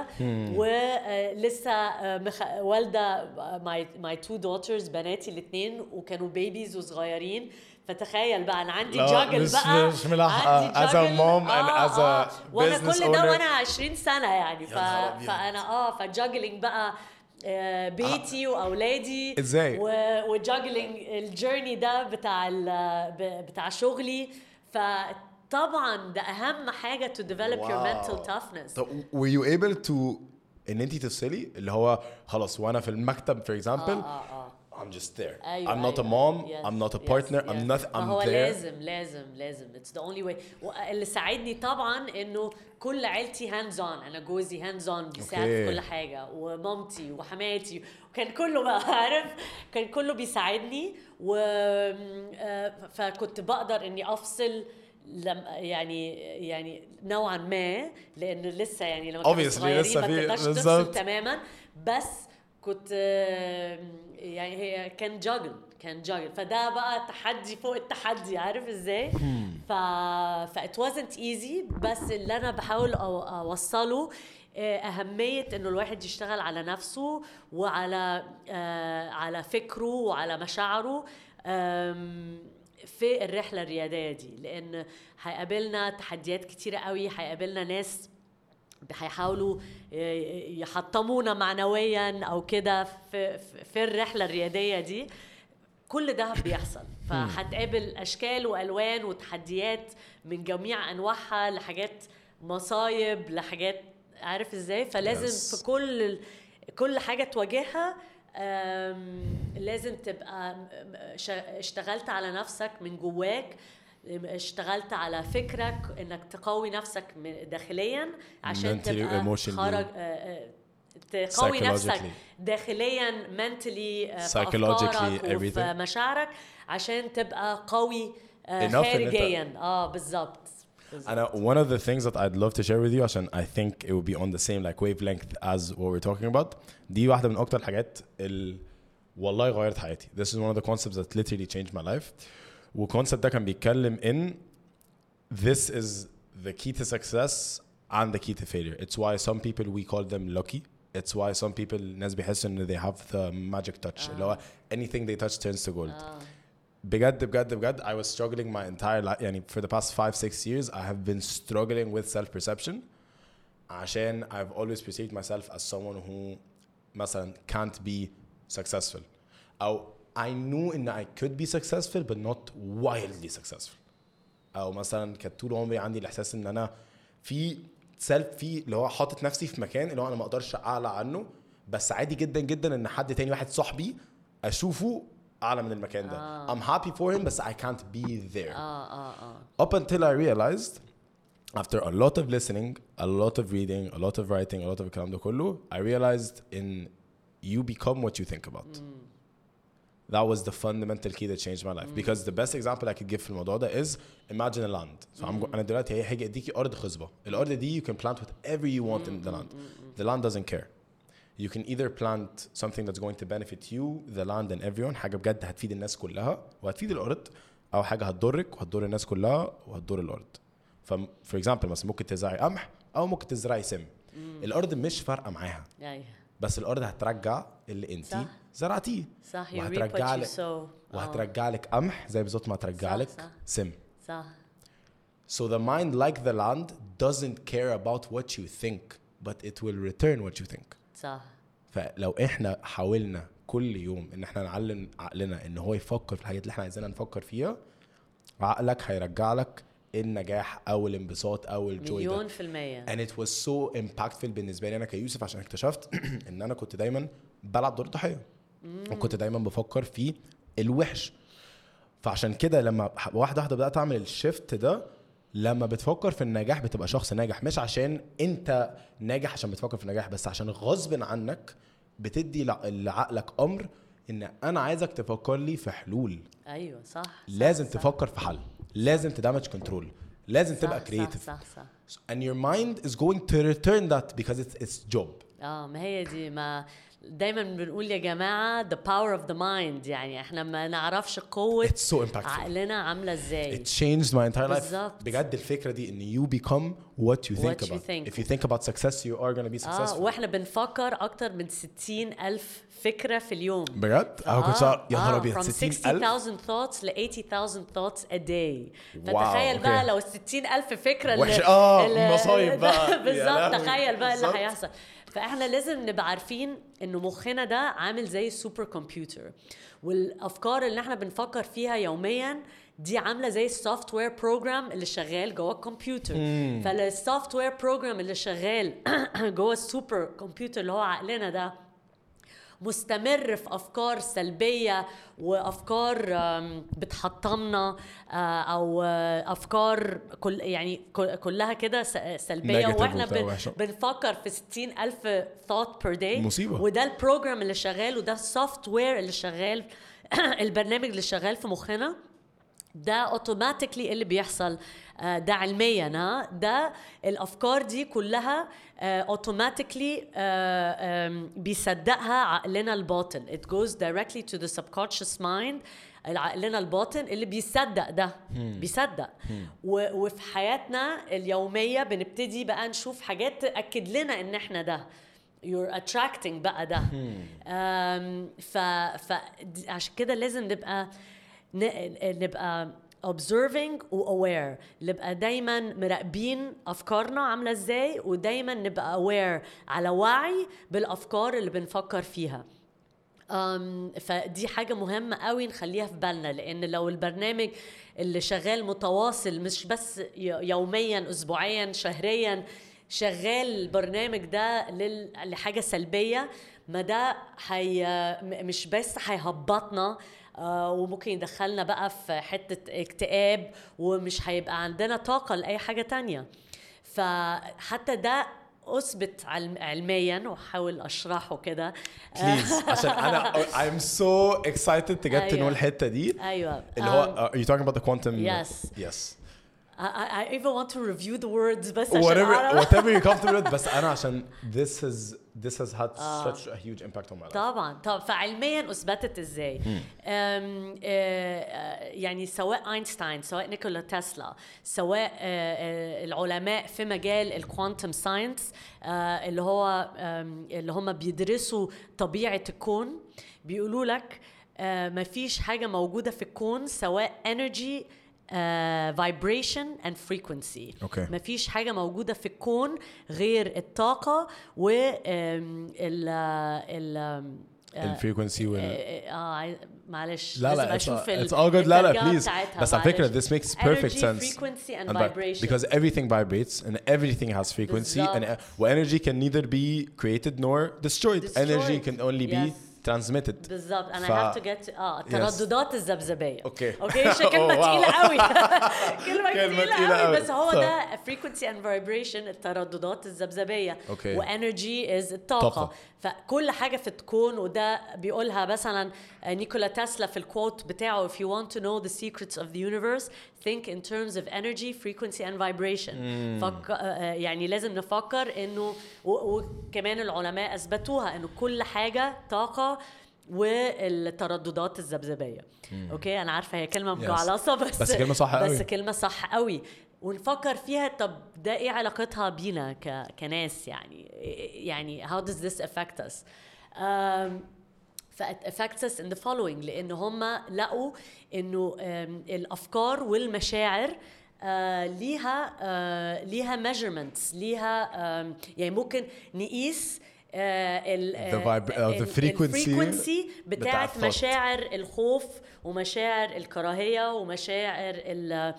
ولسه آه مخ... والدة my, my two daughters بناتي الاثنين، وكانوا بيبيز وصغيرين. فتخيل بقى انا عندي جاجل بقى مش ملاحقة as a mom and آه as a آه وانا business كل owner. ده وانا عشرين سنة يعني. ف... فانا اه فجاجلينج بقى آه بيتي واولادي ازاي وجاجلينج الجيرني ده بتاع بتاع شغلي. فطبعا ده اهم حاجه to develop wow. your mental toughness. So, were you able to ان انتي تفصلي اللي هو خلاص وانا في المكتب for example آه آه آه. I'm just there. أيوة I'm not أيوة a mom. yes, I'm not a yes, partner. yes. I'm not. I'm هو there. لازم لازم لازم. It's the only way. واللي ساعدني طبعا إنه كل عيلتي hands on. أنا جوزي hands on بيساعد okay. في كل حاجة، ومامتي وحماتي، وكان كله بقى عارف كان كله بيساعدني. و فكنت بقدر إني أفصل لم يعني يعني نوعا ما، لأن لسه يعني لما كنا صغيرين ما تقدرش تفصل تماما. بس كنت يعني هي كان جاجل كان جاجل فده بقى تحدي فوق التحدي، عارف ازاي؟ ف ف it wasn't easy. بس اللي انا بحاول اوصله اهميه انه الواحد يشتغل على نفسه وعلى على فكره وعلى مشاعره. في الرحله الرياديه دي، لان هيقابلنا تحديات كتيره قوي، هيقابلنا ناس هيحاولوا يحطمونا معنويا او كده في في الرحله الرياديه دي. كل ده بيحصل، فهتقابل اشكال والوان وتحديات من جميع انواعها، لحاجات مصايب لحاجات عارف ازاي. فلازم yes. في كل كل حاجه تواجهها لازم تبقى اشتغلت على نفسك من جواك، اشتغلت على فكرك انك تقوي نفسك داخليا عشان تبقى خارج تقوي نفسك داخليا mentally psychologically وفي مشاعرك عشان تبقى قوي خارجيا. اه بالظبط. And uh, one of the things that I'd love to share with you, عشان I think it would be on the same like wavelength as what we're talking about, دي واحدة من أكتر الحاجات اللي والله غيرت حياتي. This is one of the concepts that literally changed my life. والconcept ده كان بيتكلم in this is the key to success and the key to failure. It's why some people we call them lucky. It's why some people ناس بيحسوا إن they have the magic touch. اللي هو anything they touch turns to gold. بجد بجد بجد I was struggling my entire life يعني for the past five six years I have been struggling with self perception عشان I've always perceived myself as someone who مثلا can't be successful أو I knew إن I could be successful but not wildly successful أو مثلا كانت طول عمري عندي الإحساس إن أنا في self في اللي هو حاطط نفسي في مكان اللي هو أنا ما أقدرش أعلى عنه بس عادي جدا جدا إن حد تاني واحد صاحبي أشوفه أعلى من المكان ده. آه. I'm happy for him but I can't be there. آه آه آه. Up until I realized after a lot of listening, a lot of reading, a lot of writing, a lot of الكلام ده كله, I realized in you become what you think about. Mm. That was the fundamental key that changed my life. Mm. Because the best example I could give في الموضوع ده is imagine a land. So mm. I'm, أنا دلوقتي هي هاجي أديكي أرض خصبة. الأرض دي you can plant whatever you want mm. in the land. Mm. The land doesn't care. You can either plant something that's going to benefit you, the land and everyone, حاجة بجد هتفيد الناس كلها وهتفيد الأرض، أو حاجة هتضرك وهتضر الناس كلها وهتضر الأرض. ف for example مثلا ممكن تزرعي قمح أو ممكن تزرعي سم. mm. الأرض مش فارقة معاها. yeah. بس الأرض هترجع اللي أنتي زرعتيه. صح. وهترجع لك وهترجع لك قمح زي بالظبط ما هترجع لك سم. صح. So the mind, like the land, doesn't care about what you think, but it will return what you think. صح. فلو احنا حاولنا كل يوم ان احنا نعلم عقلنا ان هو يفكر في الحاجات اللي احنا عايزينها نفكر فيها، عقلك هيرجع لك النجاح او الانبساط او الجوي ده مليون في المية. and it was so impactful بالنسبه لي انا كيوسف عشان اكتشفت ان انا كنت دايما بلعب دور الضحيه وكنت دايما بفكر في الوحش. فعشان كده لما واحده واحده بدات اعمل الشيفت ده، لما بتفكر في النجاح بتبقى شخص ناجح، مش عشان انت ناجح عشان بتفكر في النجاح، بس عشان غصب عنك بتدي لعقلك امر ان انا عايزك تفكر لي في حلول. ايوه صح. لازم صح تفكر في حل، لازم تدمج كنترول، لازم صح تبقى كرييتيف. صح, صح صح. and your mind is going to return that because it's its job. اه ما هي دي، ما دايما بنقول يا جماعه the power of the mind، يعني احنا ما نعرفش قوه so عقلنا عامله ازاي. it changed my entire life. بالزبط. بجد الفكره دي ان you become what you think what about. you think. if you think about success you are going to be successful. اه واحنا بنفكر اكتر من ستين ألف فكره في اليوم. بجد اه كنت يا نهار ابيض ستين ألف thoughts ل eighty thousand thoughts a day. فتخيل بقى لو ستين ألف فكره اللي اه مصايب بقى. بالظبط تخيل بقى اللي هيحصل. فاحنا لازم نبقى عارفين انه مخنا ده عامل زي السوبر كمبيوتر، والافكار اللي احنا بنفكر فيها يوميا دي عامله زي السوفت وير بروجرام اللي شغال جوه الكمبيوتر. فالسوفت وير بروجرام اللي شغال جوه السوبر كمبيوتر اللي هو عقلنا ده مستمر في أفكار سلبية وأفكار بتحطمنا أو أفكار كل يعني كلها كده سلبية، وإحنا بنفكر في ستين ألف thought per day. مصيبة. وده البروجرام اللي شغال وده السوفت وير اللي شغال البرنامج اللي شغال في مخنا ده اوتوماتيكلي اللي بيحصل. ده علميا ها ده الافكار دي كلها اوتوماتيكلي بيصدقها عقلنا الباطن. it goes directly to the subconscious mind. عقلنا الباطن اللي بيصدق ده hmm. بيصدق hmm. وفي حياتنا اليوميه بنبتدي بقى نشوف حاجات تاكد لنا ان احنا ده you're attracting بقى ده. hmm. ف فعشان كده لازم نبقى نبقى observing و aware، نبقى دايما مراقبين أفكارنا عاملة ازاي، ودايما نبقى aware على وعي بالأفكار اللي بنفكر فيها. أم فدي حاجة مهمة قوي نخليها في بالنا، لأن لو البرنامج اللي شغال متواصل مش بس يوميا أسبوعيا شهريا شغال البرنامج ده لحاجة سلبية، ما ده هي مش بس هيهبطنا آه وممكن يدخلنا بقى في حتة اكتئاب، ومش هيبقى عندنا طاقة لأي حاجة تانية. فحتى ده أثبت علميا، وحاول أشرحه كده please عشان أنا I'm so excited to get أيوة. to know الحتة دي أيوة. اللي هو are you talking about the quantum yes yes I, I even want to review the words بس whatever عشان whatever you're comfortable with، بس أنا عشان this has this has had uh, such a huge impact on my life. طبعا طبعا فعلميا أثبتت إزاي. أم يعني سواء أينشتاين، سواء نيكولا تسلا، سواء العلماء في مجال الكوانتم ساينس اللي هو اللي هم بيدرسوا طبيعة الكون، بيقولوا لك ما فيش حاجة موجودة في الكون سواء energy Uh, vibration and frequency. okay. ما فيش حاجة موجودة في الكون غير الطاقة و ال ال الفريكونسي وال اه معلش لا لازم لا اشوف it's all good لا لا please بس على فكرة this makes perfect energy, sense frequency and and vibration because everything vibrates and everything has frequency and, and energy can neither be created nor destroyed, destroyed. Energy can only yes. be transmitted بالضبط. انا ف... I have to get اه الترددات yes. الذبذبيه. اوكي اوكي شو كلمه تقيله قوي كلمه تقيله قوي بس هو ده frequency and vibration، الترددات الذبذبيه okay. وenergy is الطاقه طاقة. فكل حاجه في الكون، وده بيقولها مثلا نيكولا تسلا في الكوت بتاعه if you want to know the secrets of the universe think in terms of energy, frequency and vibration. mm. فك... يعني لازم نفكر انه و... وكمان العلماء اثبتوها انه كل حاجه طاقه والترددات الذبذبيه. اوكي انا عارفه هي كلمه مجعلصه بس بس كلمه صح قوي بس كلمه صح قوي ونفكر فيها. طب ده ايه علاقتها بينا ك... كناس يعني يعني how does this affect us um, it affects us in the following، لأن هم لقوا إنه الأفكار والمشاعر uh, ليها uh, ليها measurements، ليها um, يعني ممكن نقيس uh, ال the, uh, the frequency, frequency بتاعت مشاعر الخوف ومشاعر الكراهية ومشاعر ال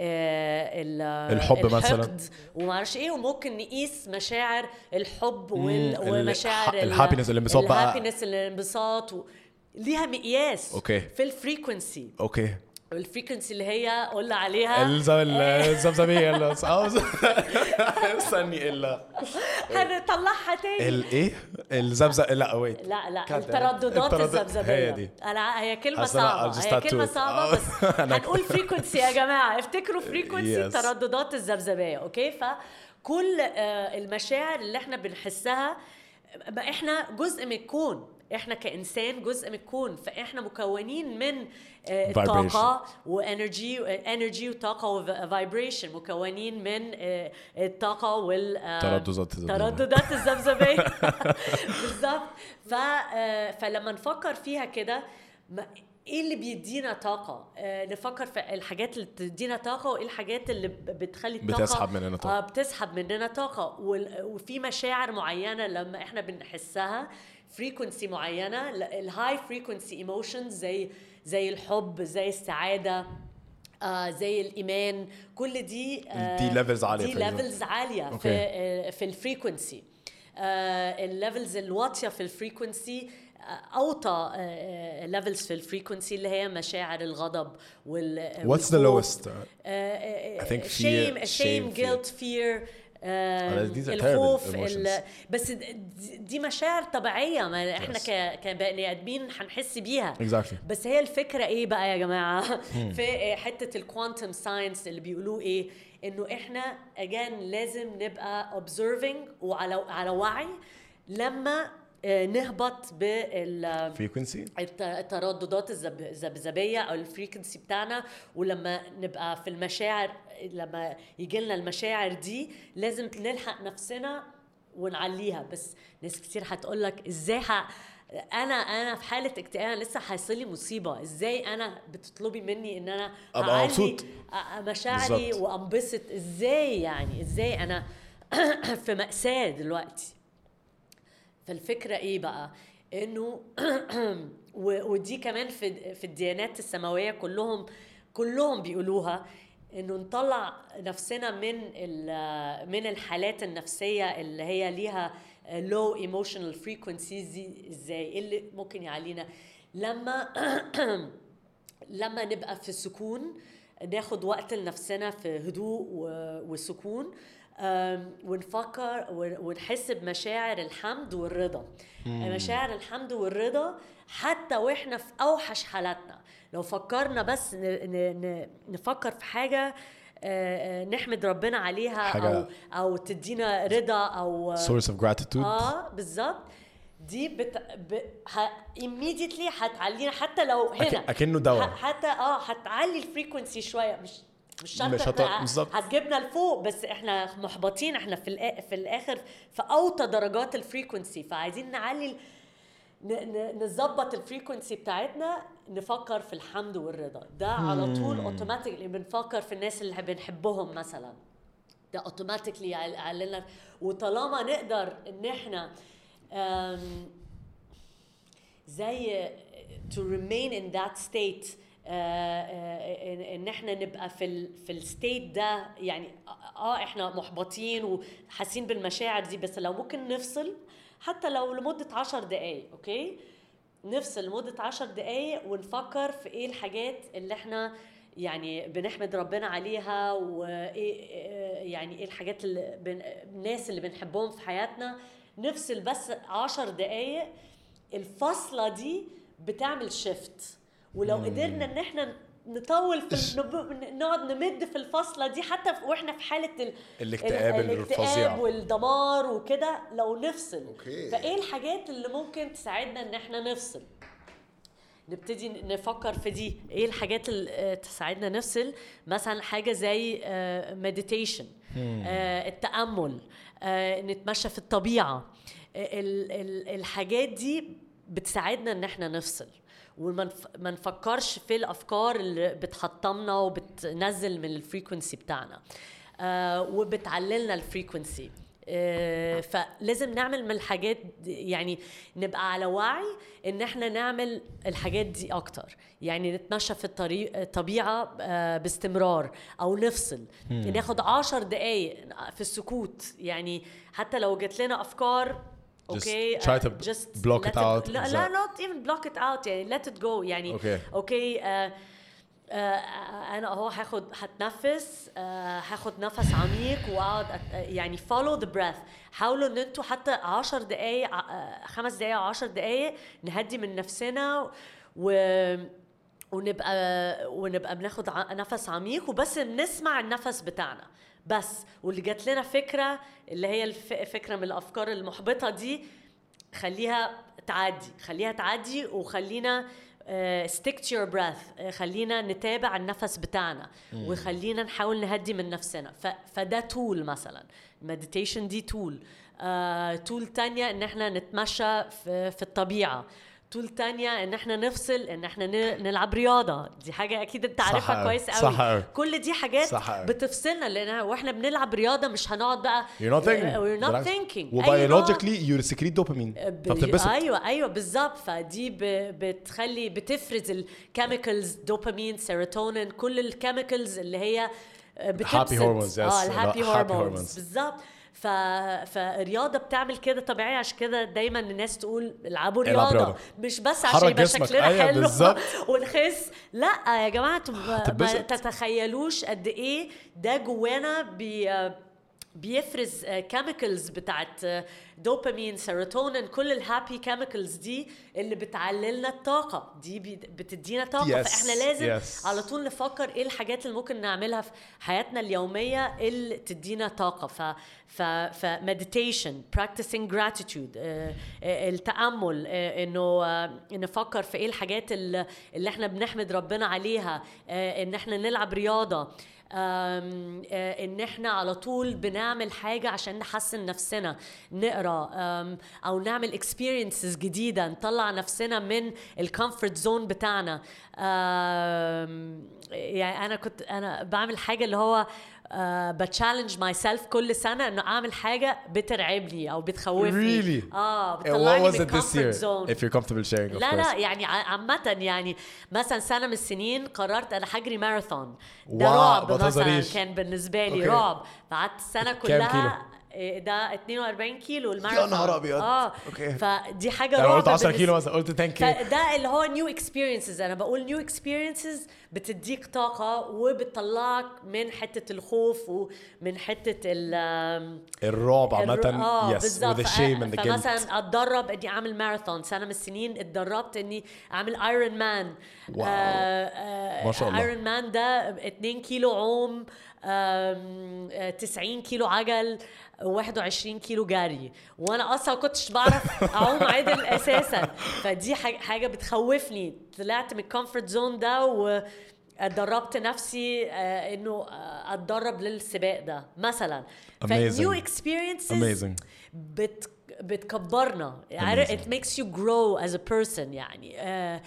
الحب مثلا وما اعرفش ايه، وممكن نقيس مشاعر الحب ومشاعر الهابينس الانبساط بقى الهابينس الانبساط و... ليها مقياس اوكي في الفريكونسي اوكي الفريكونسي اللي هي قلنا عليها الزمزميه اللي استني الا هنطلعها تاني الايه الزمزم لا ويت لا لا الترددات الزمزميه هي دي انا هي كلمه صعبه هي كلمه صعبه بس هنقول فريكونسي يا جماعه افتكروا فريكونسي الترددات الزمزميه. اوكي فكل المشاعر اللي احنا بنحسها احنا جزء من الكون، احنا كإنسان جزء من الكون، فاحنا مكونين من طاقة وانرجي انرجي وطاقة وفايبريشن، مكونين من الطاقة والترددات الذبذبية بالظبط. فلما نفكر فيها كده ايه اللي بيدينا طاقه، آه نفكر في الحاجات اللي بتدينا طاقه وايه الحاجات اللي بتخلي الطاقه بتسحب مننا طاقه آه بتسحب مننا طاقه. وفي مشاعر معينه لما احنا بنحسها فريكونسي معينه، الهاي فريكونسي ايموشنز زي زي الحب، زي السعاده، آه زي الايمان، كل دي آه دي ليفلز عاليه دي ليفلز عاليه في آه في الفريكونسي. آه الليفلز الواطيه في الفريكونسي اوطى ليفلز في الفريكونسي اللي هي مشاعر الغضب وال What's the lowest? Uh, I think fear, shame, shame, guilt, fear, uh, الخوف ال... بس دي مشاعر طبيعيه ما احنا yes. كبني ادمين هنحس بيها exactly. بس هي الفكره ايه بقى يا جماعه في حته الكوانتم ساينس اللي بيقولوا ايه، انه احنا اجان لازم نبقى observing وعلى على وعي لما نهبط بالفريكونسي الترددات الذبذبيه او الفريكونسي بتاعنا، ولما نبقى في المشاعر لما يجي لنا المشاعر دي لازم نلحق نفسنا ونعليها. بس ناس كتير هتقول لك ازاي انا انا في حاله اكتئاب، لسه حاصل لي مصيبه، ازاي انا بتطلبي مني ان انا ابقى مبسوط مشاعري بالزبط. وانبسط؟ ازاي يعني؟ ازاي انا في مأساة دلوقتي؟ فالفكره ايه بقى؟ انه ودي كمان في في الديانات السماويه كلهم كلهم بيقولوها، انه نطلع نفسنا من من الحالات النفسيه اللي هي ليها low emotional frequencies دي. ازاي؟ اللي ممكن يعلينا لما لما نبقى في سكون، ناخد وقت لنفسنا في هدوء وسكون، ونفكر ونحس بمشاعر الحمد والرضا. مشاعر الحمد والرضا حتى واحنا في اوحش حالاتنا، لو فكرنا بس نفكر في حاجه نحمد ربنا عليها او او تدينا رضا او source of gratitude. اه بالظبط. دي بت... ب... ه... immediately هتعلينا حتى لو هنا أك... اكنه دواء، حتى اه هتعلي الفريكونسي شويه، مش مش شرط هت... هتجيبنا لفوق، بس احنا محبطين، احنا في الآ... في الاخر في اوطى درجات الفريكونسي، فعايزين نعلي نظبط الفريكونسي بتاعتنا، نفكر في الحمد والرضا. ده على طول اوتوماتيكلي بنفكر في الناس اللي بنحبهم مثلا، ده اوتوماتيكلي يعللنا. وطالما نقدر ان احنا um, زي to remain in that state، uh, uh, ان احنا نبقى في ال في الستيت ده، يعني اه احنا محبطين وحاسين بالمشاعر دي، بس لو ممكن نفصل حتى لو لمدة عشر دقايق، اوكي، نفصل لمدة عشر دقايق ونفكر في ايه الحاجات اللي احنا يعني بنحمد ربنا عليها، وايه يعني ايه الحاجات اللي بن... الناس اللي بنحبهم في حياتنا. نفصل بس عشر دقايق، الفصلة دي بتعمل شيفت. ولو قدرنا ان احنا نطول في نقعد نمد في الفصلة دي حتى واحنا في حالة ال... الاكتئاب الفظيع والدمار وكده، لو نفصل أوكي. فايه الحاجات اللي ممكن تساعدنا ان احنا نفصل؟ نبتدي نفكر في دي، ايه الحاجات اللي تساعدنا نفصل. مثلا حاجة زي مديتيشن، التأمل، نتمشى في الطبيعة. الحاجات دي بتساعدنا ان احنا نفصل وما نفكرش في الافكار اللي بتحطمنا وبتنزل من الفريكونسي بتاعنا، وبتعللنا الفريكونسي. فلازم نعمل من الحاجات دي، يعني نبقى على وعي ان احنا نعمل الحاجات دي اكتر، يعني نتمشى في الطريق الطبيعة باستمرار، او نفصل م. ناخد عشر دقايق في السكوت. يعني حتى لو جت لنا افكار اوكي، just try to uh, just block it out. لا لا not even block it out، يعني let it go. يعني اوكي اوكي uh, Uh, انا اهو هاخد هتنفس، uh, هاخد نفس عميق واقعد يعني follow the breath. حاولوا ان انتوا حتى عشر دقايق uh, خمس دقايق عشر دقايق نهدي من نفسنا و ونبقى ونبقى بناخد نفس عميق وبس بنسمع النفس بتاعنا بس. واللي جات لنا فكرة اللي هي الفكرة من الافكار المحبطة دي، خليها تعدي خليها تعدي وخلينا Uh, stick to your breath. uh, خلينا نتابع النفس بتاعنا مم. وخلينا نحاول نهدي من نفسنا. ف... فده تول مثلا meditation، دي تول. uh, تول تانية ان احنا نتمشى في, في الطبيعة. تول تانية ان احنا نفصل، ان احنا نلعب رياضة. دي حاجة اكيد انت عارفها كويس قوي. كل دي حاجات بتفصلنا، لان واحنا بنلعب رياضة مش هنقعد بقى you're not thinking, uh, we're not thinking. وbiologically you secrete dopamine فبتنبسط. ايوه ايوه بالظبط. فدي بتخلي بتفرز الكيميكالز، دوبامين، سيروتونين، كل الكيميكالز اللي هي بتبسط. happy hormones. اه الهابي هرمونز بالظبط. ف... فالرياضة بتعمل كده طبيعي. عشان كده دايما الناس تقول العبوا رياضة, رياضة مش بس عشان يبقى شكلنا أيوة حلو ونخس. لا يا جماعة ما تتخيلوش قد ايه ده جوانا بي... بيفرز كيميكالز بتاعت دوبامين، سيروتونين، كل الهابي كيميكالز دي اللي بتعللنا الطاقة دي، بتدينا طاقة. yes. فإحنا لازم yes. على طول نفكر إيه الحاجات اللي ممكن نعملها في حياتنا اليومية اللي تدينا طاقة. ف ف ف meditation, practicing gratitude, التأمل، إنه نفكر في إيه الحاجات اللي إحنا بنحمد ربنا عليها، إن إحنا نلعب رياضة، ان احنا على طول بنعمل حاجة عشان نحسن نفسنا، نقرا او نعمل experiences جديدة، نطلع نفسنا من الكومفورت زون بتاعنا. يعني انا كنت انا بعمل حاجة اللي هو Uh, بتشالنج ماي سيلف كل سنه انه اعمل حاجه بترعبني او بتخوفني. really? اه بتطلعني من الكومفورت زون. if you're comfortable sharing of لا course. لا يعني عامه يعني مثلا سنه من السنين قررت انا هجري ماراثون. ده واو، رعب مثلا بتهزريش. كان بالنسبه لي أوكي. رعب. قعدت السنه كام كلها ده اتنين واربعين كيلو الماراثون. يا نهار ابيض. اه اوكي. فدي حاجه يعني رعب. قلت عشرة كيلو مثلا، قلت عشرة كيلو. فده اللي هو نيو اكسبيرينسز. انا بقول نيو اكسبيرينسز بتديك طاقه وبتطلعك من حته الخوف ومن حته الرعب عامه. اه يس with the shame and the guilt. فمثلا اتدرب اني اعمل ماراثون. سنه من السنين اتدربت اني اعمل ايرون مان. واو. ما شاء الله. ايرون مان ده اتنين كيلو عوم، تسعين كيلو عجل، واحد وعشرين كيلو جري، وانا اصلا كنتش بعرف اعوم عدل اساسا. فدي حاجه بتخوفني. طلعت من الكومفورت زون ده وادربت نفسي انه اتدرب للسباق ده مثلا. فنيو اكسبيرينسز بت بتكبرنا. it makes you grow as a person يعني. uh,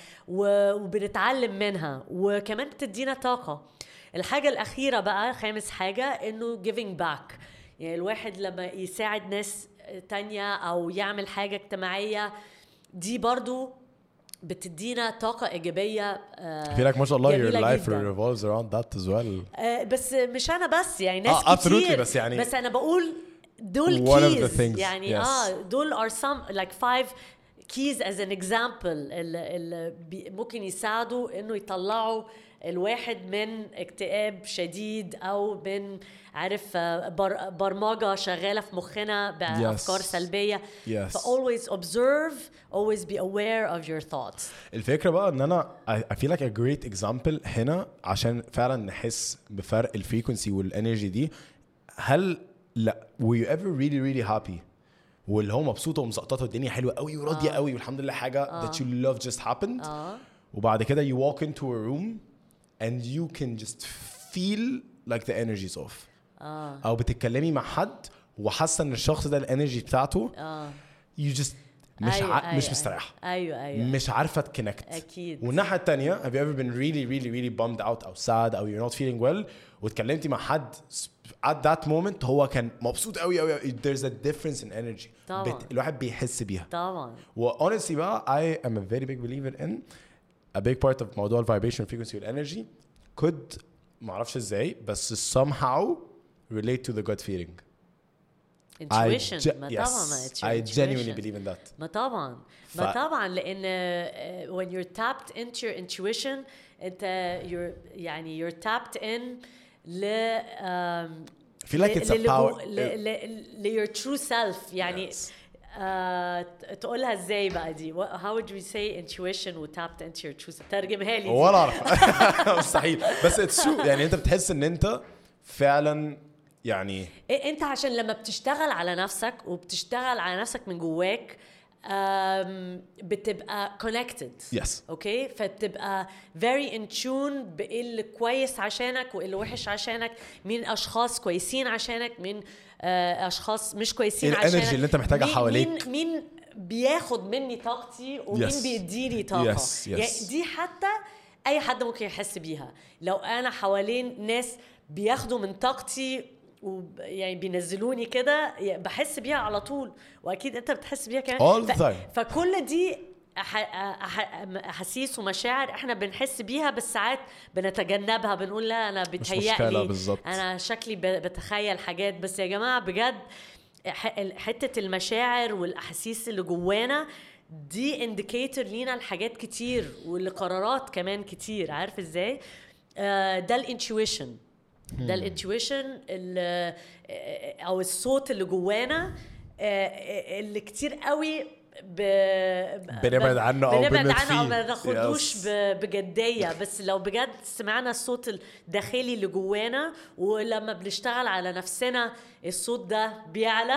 وبنتعلم منها وكمان بتدينا طاقة. الحاجة الأخيرة بقى خامس حاجة إنه giving back. يعني الواحد لما يساعد ناس تانية أو يعمل حاجة اجتماعية دي برضو بتدينا طاقة إيجابية. في لك ما شاء الله your life revolves around that as well. uh, بس مش أنا بس يعني ناس آه, كتير. بس يعني بس أنا بقول دول keys يعني. yes. اه دول are some like five keys as an example اللي ممكن يساعدوا انه يطلعوا الواحد من اكتئاب شديد او من عارف بر برمجة شغالة في مخنا بأفكار yes. سلبية. yes. ف always observe, always be aware of your thoughts. الفكرة بقى ان انا I feel like a great example هنا عشان فعلا نحس بفرق الفريكونسي والانرجي دي. هل لا were you ever really really happy واللي هو مبسوطه ومسقطه الدنيا حلوه قوي وراضيه قوي والحمد لله حاجه آه. that you love just happened آه. وبعد كده you walk into a room and you can just feel like the energy is off. آه. او بتتكلمي مع حد وحاسه ان الشخص ده الانرجي بتاعته آه. you just مش أيوة ع... أيوة مش مستريح. ايوه ايوه مش عارفه تكونكت. اكيد. والناحيه الثانيه have you ever been really really really bummed out او sad او you're not feeling well واتكلمتي مع حد at that moment هو كان مبسوط قوي قوي. there's a difference in energy. طبعا. بت... الواحد بيحس بيها طبعا. و honestly بقى I am a very big believer in a big part of موضوع vibration frequency والenergy could معرفش ازاي بس somehow relate to the gut feeling. intuition. I ge- ما yes, طبعا I genuinely believe in that. ما طبعا ف... ما طبعا لان uh, when you're tapped into your intuition انت you're يعني you're tapped in ل um, I feel like it's a power ل ل your true self يعني. yes. uh, تقولها ازاي بقى دي؟ how would we say intuition و tapped into your true self؟ ترجمها لي. ولا اعرف مستحيل بس it's true. يعني انت بتحس ان انت فعلا يعني انت عشان لما بتشتغل على نفسك وبتشتغل على نفسك من جواك بتبقى connected. yes. اوكي فبتبقى very in tune بايه اللي كويس عشانك وايه اللي وحش عشانك، مين اشخاص كويسين عشانك، مين اشخاص مش كويسين عشانك، الانرجي اللي انت محتاجها مين حواليك، مين, مين بياخد مني طاقتي ومين yes. بيديني طاقه. yes. yes. يعني دي حتى اي حد ممكن يحس بيها. لو انا حوالين ناس بياخدوا من طاقتي ويعني بينزلوني كده بحس بيها على طول، واكيد انت بتحس بيها كمان. all the time. فكل دي احاسيس ومشاعر احنا بنحس بيها بس ساعات بنتجنبها، بنقول لا انا بتهيألي انا شكلي بتخيل حاجات. بس يا جماعه بجد حته المشاعر والاحاسيس اللي جوانا دي انديكيتور لينا لحاجات كتير ولقرارات كمان كتير. عارف ازاي؟ ده الانتويشن، ده الانتويشن او الصوت اللي جوانا اللي كتير قوي ب... بنبعد عنه او بنبعد عنه او ما ناخدوش yes. بجديه. بس لو بجد سمعنا الصوت الداخلي اللي جوانا ولما بنشتغل على نفسنا الصوت ده بيعلى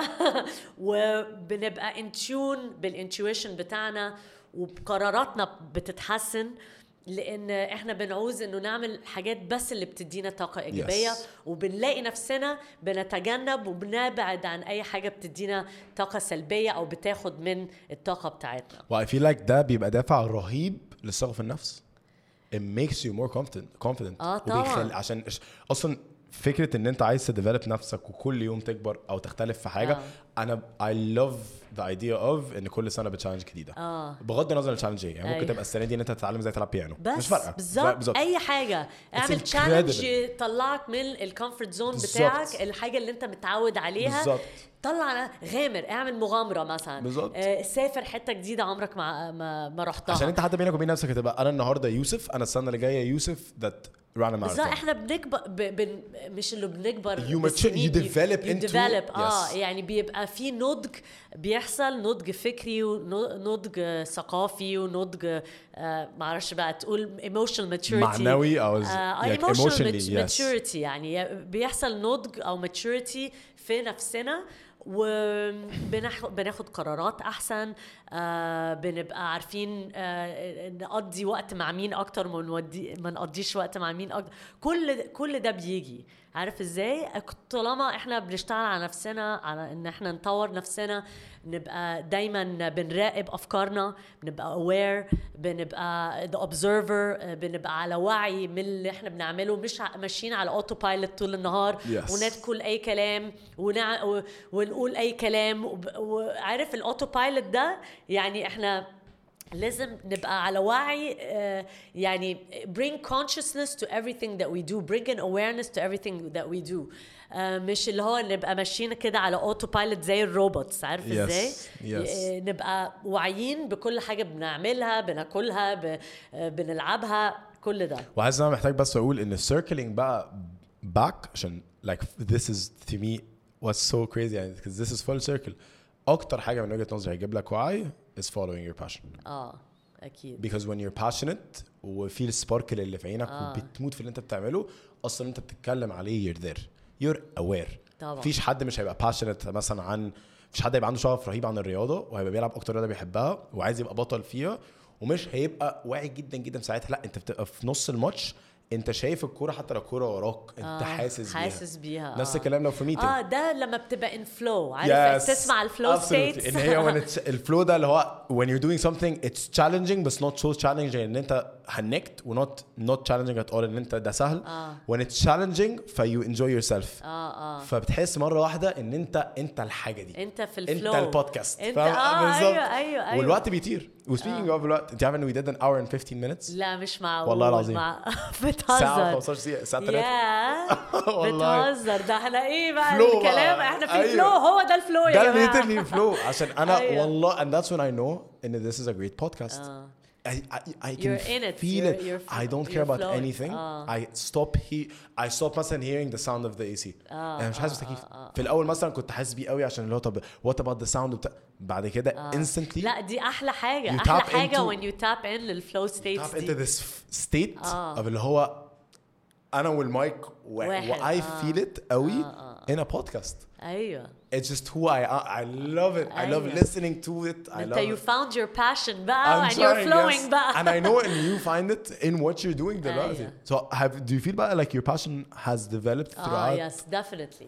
وبنبقى ان تيون بالانتويشن بتاعنا وبقراراتنا بتتحسن. لان احنا بنعوز انه نعمل حاجات بس اللي بتدينا طاقه ايجابيه Yes. وبنلاقي نفسنا بنتجنب وبنبعد عن اي حاجه بتدينا طاقه سلبيه او بتاخد من الطاقه بتاعتنا. و I feel like ده بيبقى دافع رهيب للثقة في النفس. It makes you more confident confident آه طبعاً. وبيخلي عشان إش- اصلا فكرة ان انت عايز تديفلوب نفسك وكل يوم تكبر او تختلف في حاجة. آه. انا I love the idea of ان كل سنة بتشالنج جديدة. آه. بغض النظر عن التشالنج ايه، يعني ممكن أيوة. تبقى السنة دي ان انت تتعلم ازاي تلعب بيانو، بس مش فارقة بالظبط اي حاجه اعمل incredible. تشالنج يطلعك من الكومفورت زون بالظبط. بتاعك، الحاجه اللي انت متعود عليها بالظبط. طلع غامر، اعمل مغامره مثلا، بالظبط. آه سافر حته جديده عمرك ما ما, ما رحتها، عشان انت حتى بينك وبين نفسك هتبقى انا النهارده يوسف، انا السنه اللي جايه يوسف that run a بالظبط. marathon. احنا بنكبر ب... بن... مش اللي بنكبر You mature- بالسنين، you develop you into- develop. اه yes. يعني بيبقى في نضج بيحصل، نضج فكري ونضج ثقافي ونضج آه معرفش بقى تقول emotional maturity معنوي او آه like emotional emotionally yes. maturity، يعني بيحصل نضج او maturity في نفسنا وبناخد قرارات احسن، آه بنبقى عارفين آه نقضي وقت مع مين اكتر ما نودي ما نقضيش وقت مع مين اكتر. كل كل ده بيجي عارف ازاي طالما احنا بنشتغل على نفسنا، على ان احنا نطور نفسنا، نبقى دايما بنراقب افكارنا، بنبقى aware، بنبقى the observer، بنبقى على وعي من اللي احنا بنعمله، مش ماشيين على اوتو بايلوت طول النهار yes. وندخل اي كلام ونع... و... ونقول اي كلام وب... وعارف الاوتو بايلوت ده، يعني احنا لازم نبقى على وعي، uh, يعني bring consciousness to everything that we do, bring an awareness to everything that we do. uh, مش اللي هو نبقى ماشيين كده على اوتو بايلوت زي الروبوتس، عارف yes. ازاي yes. uh, نبقى واعيين بكل حاجة بنعملها، بناكلها، ب... uh, بنلعبها، كل ده. وعايز انا محتاج بس اقول ان circling بقى back عشان like this is to me what's so crazy يعني because this is full circle. اكتر حاجه من وجهه نظري هيجيب لك وعي is following your passion. اه اكيد. because when you're passionate وفي السباركل اللي في عينك آه. وبتموت في اللي انت بتعمله، اصلا انت بتتكلم عليه you're there you're aware. طبعا. مفيش حد مش هيبقى passionate مثلا عن مفيش حد هيبقى عنده شغف رهيب عن الرياضه وهيبقى بيلعب اكتر رياضه بيحبها وعايز يبقى بطل فيها ومش هيبقى واعي جدا جدا ساعتها. لا انت بتبقى في نص الماتش انت شايف الكوره حتى لو الكوره وراك انت آه. حاسس بيها حاسس بيها نفس آه. الكلام لو في ميتنج. اه ده لما بتبقى ان فلو، عارف yes. تسمع الفلو ستيتس ان هي when it's الفلو ده اللي هو when you're doing something it's challenging but not so challenging ان انت هنكت و not not challenging at all ان انت ده سهل. آه. when it's challenging ف you enjoy yourself. اه اه فبتحس مره واحده ان انت انت الحاجه دي، انت في الفلو، انت البودكاست. انت اه ايوه ايوه ايوه والوقت بيطير. وسبيكينج اوف الوقت، انت عارف ان we did an hour and fifteen minutes؟ لا مش معقول والله العظيم مع... ساعه بتهزر خمستاشر دقيقه ساعه ثلاثة يا والله بتهزر. ده احنا ايه بقى فلو الكلام بقى. احنا في أيوة. الفلو، هو ده الفلو يا ده جماعه. literally فلو عشان انا أيوة. والله and that's when I know ان this is a great podcast. آه. I, I, I can You're in it. feel You're- it. you're I don't you're care about flowing. anything. آه. I stop he I stop مثلا hearing the sound of the A C. آه. انا مش حاسس آه. بالتكييف. آه. في الاول مثلا كنت حاسس بيه قوي عشان اللي هو طب what about the sound بتاع بعد كده آه. instantly لا دي احلى حاجه، You احلى tap حاجه into- when you tap in للفلو tap ستيتس into دي. this state آه. of اللي هو انا والمايك و, واحد. و I آه. feel it قوي آه. in a podcast. ايوه It's just who I am. I love it. I love أيوة. listening to it. I انت love you it. found your passion بقى I'm and you're trying, flowing yes. بقى. And I know and you find it in what you're doing دلوقتي. أيوة. So have do you feel بقى like your passion has developed اه throughout? يس definitely.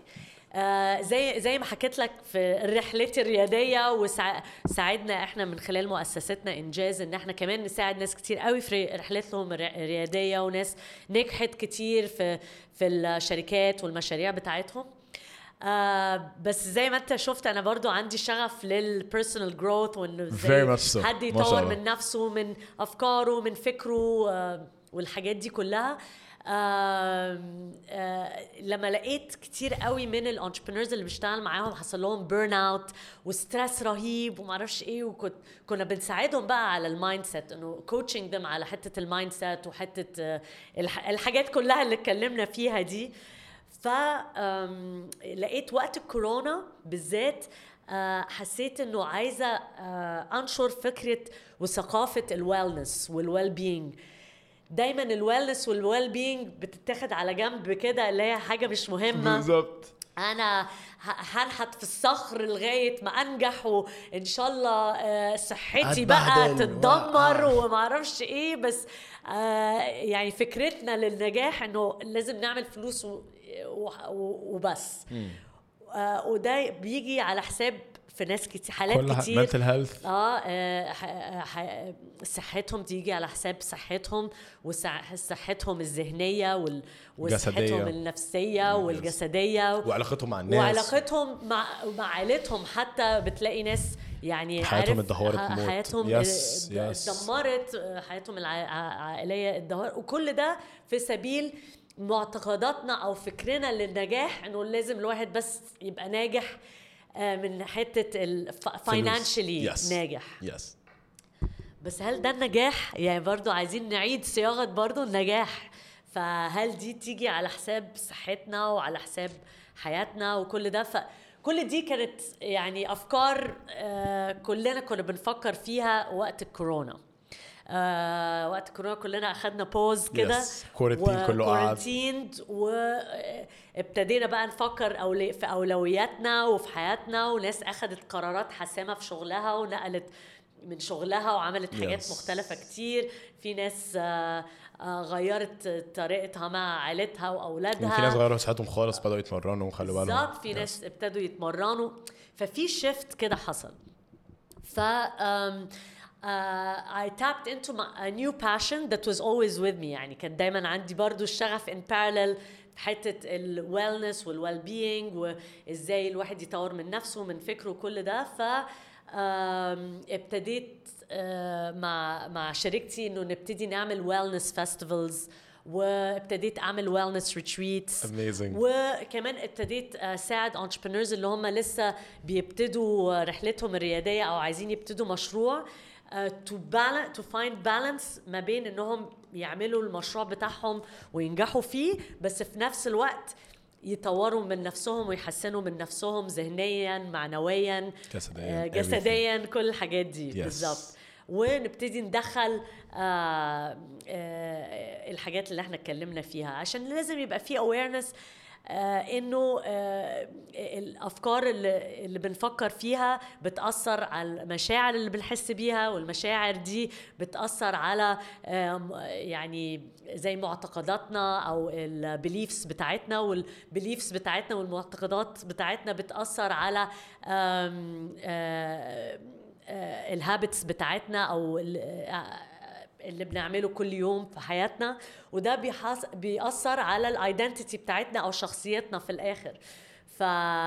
آه زي زي ما حكيت لك في رحلتي الرياضيه، وساعدنا احنا من خلال مؤسستنا انجاز ان احنا كمان نساعد ناس كتير قوي في رحلتهم الرياضيه، وناس نجحت كتير في في الشركات والمشاريع بتاعتهم. آه بس زي ما انت شفت انا برضو عندي شغف للبيرسونال جروث، وانه Very much ازاي so. حد ما شاء يطور الله. من نفسه، من افكاره، من فكره، آه والحاجات دي كلها. آه آه لما لقيت كتير قوي من الانتربرينورز اللي بشتغل معاهم حصل لهم بيرن اوت وستريس رهيب وما اعرفش ايه، وكنت كنا بنساعدهم بقى على المايند سيت، انه كوتشنج them على حته المايند سيت وحته آه الحاجات كلها اللي اتكلمنا فيها دي. فلقيت وقت الكورونا بالذات حسيت انه عايزه انشر فكره وثقافه الويلنس والويل بينج. دايما الويلنس والويل بينج بتتاخد على جنب كده، اللي هي حاجه مش مهمه بالظبط. انا هنحت في الصخر لغايه ما انجح وان شاء الله صحتي بقى تتدمر وما اعرفش ايه. بس يعني فكرتنا للنجاح انه لازم نعمل فلوس وبس، وده بيجي على حساب في ناس كتير، حالات كتير mental health. اه, آه صحتهم تيجي على حساب صحتهم وصحتهم الذهنية وال... وصحتهم النفسية والجسدية وعلاقتهم مع الناس وعلاقتهم مع مع عائلتهم. حتى بتلاقي ناس يعني حياتهم اتدهورت، حياتهم يس اتدمرت، حياتهم العائلية اتدهورت، وكل ده في سبيل معتقداتنا او فكرنا للنجاح انه لازم الواحد بس يبقى ناجح من حتة الفاينانشلي yes. ناجح yes. بس هل ده النجاح؟ يعني برضو عايزين نعيد صياغة برضو النجاح. فهل دي تيجي على حساب صحتنا وعلى حساب حياتنا وكل ده؟ فكل دي كانت يعني أفكار كلنا كنا بنفكر فيها وقت الكورونا. آه وقت كورونا كلنا أخذنا بوز كده كورنتين كله قاعد وابتدينا بقى نفكر أولي في أولوياتنا وفي حياتنا، وناس أخذت قرارات حاسمة في شغلها ونقلت من شغلها وعملت حاجات yes. مختلفة كتير. في ناس آه آه غيرت طريقتها مع عائلتها وأولادها، في ناس غيروا صحتهم خالص بدأوا يتمرنوا وخلوا بالهم بالظبط، في ناس yes. ابتدوا يتمرنوا. ففي شيفت كده حصل. ف Uh, I tapped into my, a new passion that was always with me. يعني كان دايما عندي برضو الشغف in parallel في حتة ال wellness وال well being وإزاي الواحد يطور من نفسه ومن فكره وكل ده. ف um, ابتديت uh, مع مع شريكتي إنه نبتدي نعمل wellness festivals، وابتديت أعمل wellness retreats. Amazing. وكمان ابتديت أساعد entrepreneurs اللي هم لسه بيبتدوا رحلتهم الريادية أو عايزين يبتدوا مشروع Uh, to balance to find balance ما بين انهم يعملوا المشروع بتاعهم وينجحوا فيه، بس في نفس الوقت يطوروا من نفسهم ويحسنوا من نفسهم ذهنيا معنويا جسديا, uh, جسديا كل الحاجات دي yes. بالظبط. ونبتدي ندخل uh, uh, الحاجات اللي احنا اتكلمنا فيها، عشان لازم يبقى في awareness آه إنه آه الأفكار اللي, اللي بنفكر فيها بتأثر على المشاعر اللي بنحس بيها، والمشاعر دي بتأثر على آه يعني زي معتقداتنا أو البيليفز بتاعتنا، والبيليفز بتاعتنا والمعتقدات بتاعتنا بتأثر على الهابتس بتاعتنا أو اللي بنعمله كل يوم في حياتنا، وده بيحص... بيأثر على الايدنتيتي بتاعتنا او شخصيتنا في الاخر. ف...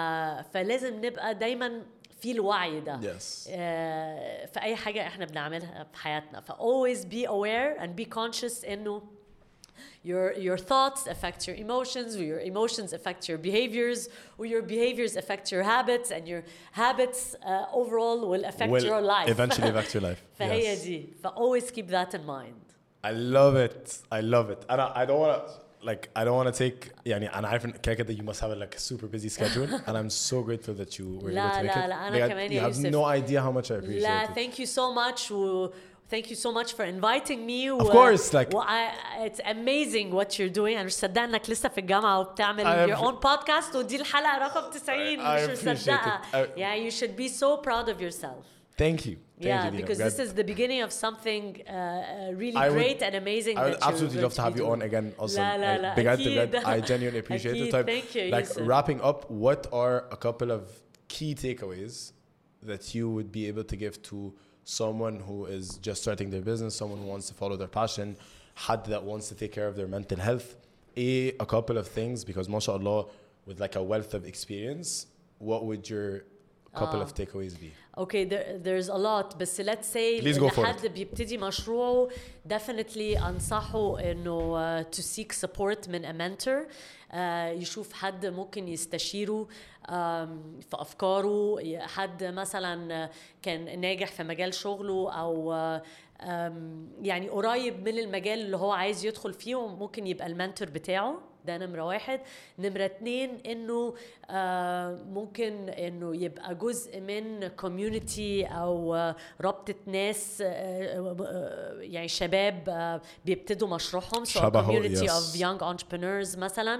فلازم نبقى دايما في الوعي ده yes. آه... في اي حاجة احنا بنعملها في حياتنا. ف always be aware and be conscious انه Your your thoughts affect your emotions, or your emotions affect your behaviors, or your behaviors affect your habits, and your habits uh, overall will affect will your life. Eventually affect your life. فهي yes. دي. ف always keep that in mind. I love it. I love it. And I, I don't want to like I don't want to take يعني أنا عارف إن كده you must have like a super busy schedule, and I'm so grateful that you were able to make it. لا لا أنا كمان you have no idea how much I appreciate لا, it. Thank you so much. و Thank you so much for inviting me. Of course, like و I, it's amazing what you're doing. أنا مش صدقت إنك لسه في الجامعة وبتعمل your own podcast ودي الحلقة رقم تسعين. مش مصدقة. Yeah, you should be so proud of yourself. Thank you. Thank yeah, you, because this is the beginning of something uh, really I great would, and amazing. I would absolutely love to have you on again. Also, لا لا لا بجد بجد I genuinely appreciate it. Type, Thank you. Like Yusuf. wrapping up, what are a couple of key takeaways that you would be able to give to someone who is just starting their business, someone who wants to follow their passion, had that wants to take care of their mental health? A, a couple of things, because mashallah, with like a wealth of experience, what would your couple uh, of takeaways be? Okay, there, there's a lot, but let's say Please go for حد it. بيبتدي مشروعه definitely أنصحه إنه uh, to seek support من a mentor. uh, يشوف حد ممكن يستشيره um, في أفكاره، حد مثلا كان ناجح في مجال شغله أو uh, um, يعني قريب من المجال اللي هو عايز يدخل فيه وممكن يبقى المنتور بتاعه. ده نمرة واحد. نمرة اتنين إنه آه ممكن إنه يبقى جزء من community أو آه رابطة ناس آه آه يعني شباب آه بيبتدوا مشروعهم. so a community yes. of young entrepreneurs مثلا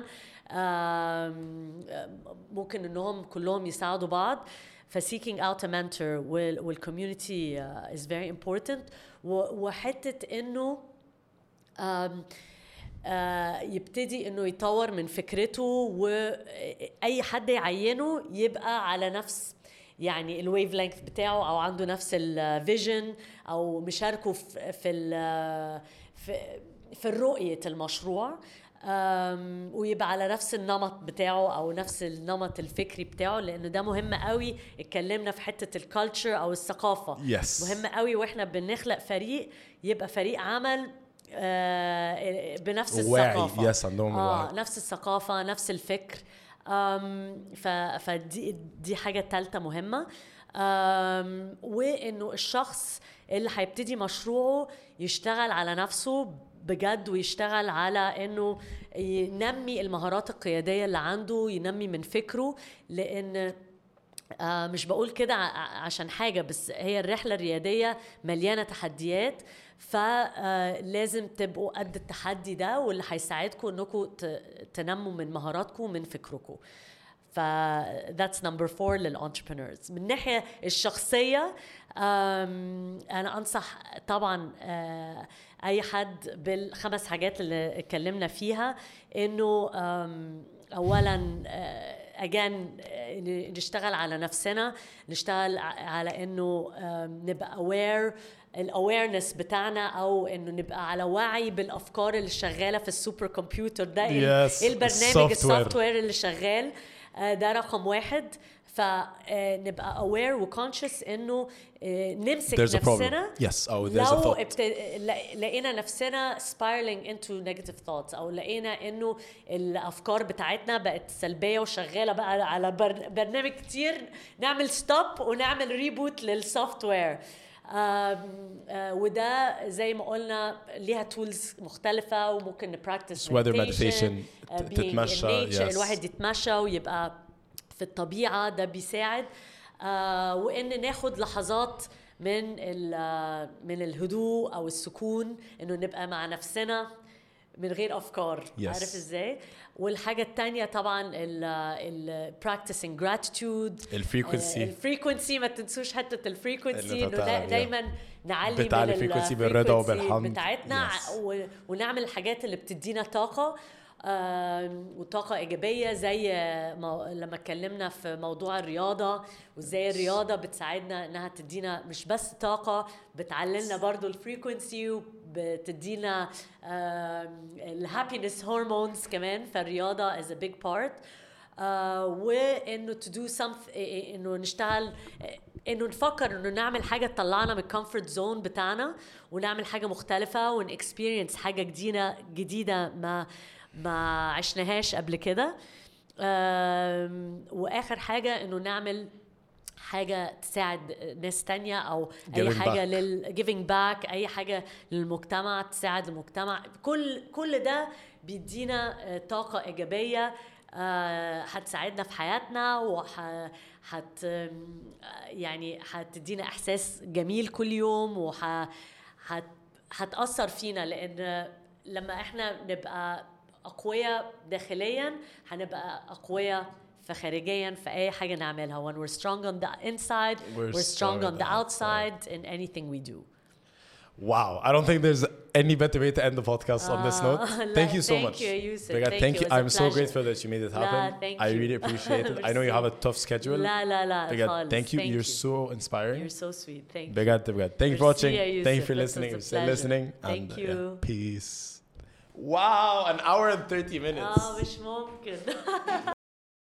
آم، ممكن انهم كلهم يساعدوا بعض. ف seeking out a mentor وال وال community uh, is very important. و- وحتة انه آم، آه، يبتدي انه يطور من فكرته، واي حد يعينه يبقى على نفس يعني الويف لينث بتاعه، او عنده نفس الفيجن، او مشاركه في في ال- في, في الرؤية المشروع، أم، ويبقى على نفس النمط بتاعه او نفس النمط الفكري بتاعه، لانه ده مهم قوي. اتكلمنا في حتة الكالتشر او الثقافة. Yes. مهم قوي واحنا بنخلق فريق يبقى فريق عمل آه، بنفس واعي. الثقافة. Yes, عندهم آه الوعي. نفس الثقافة، نفس الفكر. أم، ف فدي دي حاجة تالتة مهمة. أم، وإنه الشخص اللي هيبتدي مشروعه يشتغل على نفسه بجد، ويشتغل على إنه ينمي المهارات القيادية اللي عنده، ينمي من فكره. لأن آه مش بقول كده ع- عشان حاجة، بس هي الرحلة الريادية مليانة تحديات، فلازم تبقوا قد التحدي ده، واللي هيساعدكم انكم ت- تنموا من مهاراتكم ومن فكركم. ف that's number four للانتربرينورز. من الناحية الشخصية أم، أنا أنصح طبعا آه، أي حد بالخمس حاجات اللي اتكلمنا فيها، إنه أم، أولا آه، again آه، نشتغل على نفسنا، نشتغل ع- على إنه آم، نبقى aware الاويرنس بتاعنا، او انه نبقى على وعي بالافكار اللي شغاله في السوبر كمبيوتر ده. Yes. ايه البرنامج الsoftware. السوفت وير اللي شغال. آه، ده رقم واحد. فنبقى aware وكونشس انه آه، نمسك There's a problem. نفسنا. Yes. Oh, there's a لو thought. ابت... لا- لقينا نفسنا spiraling into negative thoughts، او لقينا انه الافكار بتاعتنا بقت سلبيه وشغاله بقى على بر... برنامج كتير، نعمل ستوب ونعمل ريبوت للسوفت وير. آم، آه، وده زي ما قلنا ليها تولز مختلفة، وممكن نبراكتس Weather meditation, ت- تتمشى. Yes. الواحد يتمشى ويبقى في الطبيعة، ده بيساعد. آه، وإن ناخد لحظات من ال- من الهدوء أو السكون، إنه نبقى مع نفسنا من غير أفكار. Yes. عارف إزاي؟ والحاجة التانية طبعا ال ال practicing gratitude. الفريكونسي. الفريكونسي، ما تنسوش حتة الفريكونسي، اللي انه بتاع- دا yeah. دايما نعلي بتعلي من frequency بالرضا الفريكونسي وبالحمد. بتاعتنا. Yes. و- ونعمل الحاجات اللي بتدينا طاقة، آم، وطاقة إيجابية، زي مو... لما اتكلمنا في موضوع الرياضة، وازاي الرياضة بتساعدنا انها تدينا مش بس طاقة، بتعللنا برضو الفريكونسي، وبتدينا الهابينس هرمونز كمان. فالرياضة is a big part. آه، وانه to do something، انه نشتغل، انه نفكر انه نعمل حاجه تطلعنا من الكومفورت زون بتاعنا، ونعمل حاجه مختلفه، ونكسبيرينس حاجه جديده جديده ما ما عشناهاش قبل كده. آم، واخر حاجه انه نعمل حاجه تساعد ناس تانية، او اي Giving حاجه back. لل giving back، اي حاجه للمجتمع تساعد المجتمع. كل كل ده بيدينا آه، طاقه ايجابيه، آه، هتساعدنا في حياتنا، وح هت يعني هتدينا احساس جميل كل يوم، وح هت هتأثر فينا. لان لما احنا نبقى اقوياء داخليا، هنبقى اقوياء فخارجيا في اي حاجه نعملها. When we're strong on the inside, We're we're strong strong on the outside in anything we do. Wow, I don't think there's any better way to end the podcast on this note. لا, Thank you so thank much. you, Yusuf. Bigad, Thank thank you. you. It was a I'm so pleasure. grateful that you made it happen. لا, thank I you. really appreciate it. I know you have a tough schedule. لا لا لا Bigad, خالص. thank you. Thank You're you. so inspiring. You're so sweet. Thank you. Bigad, Bigad. Thank you for Merci, watching. Yusuf. Thank you for It was listening. a You're still pleasure. listening. Thank And, you. yeah, peace. Wow, an hour and thirty minutes. آه مش ممكن.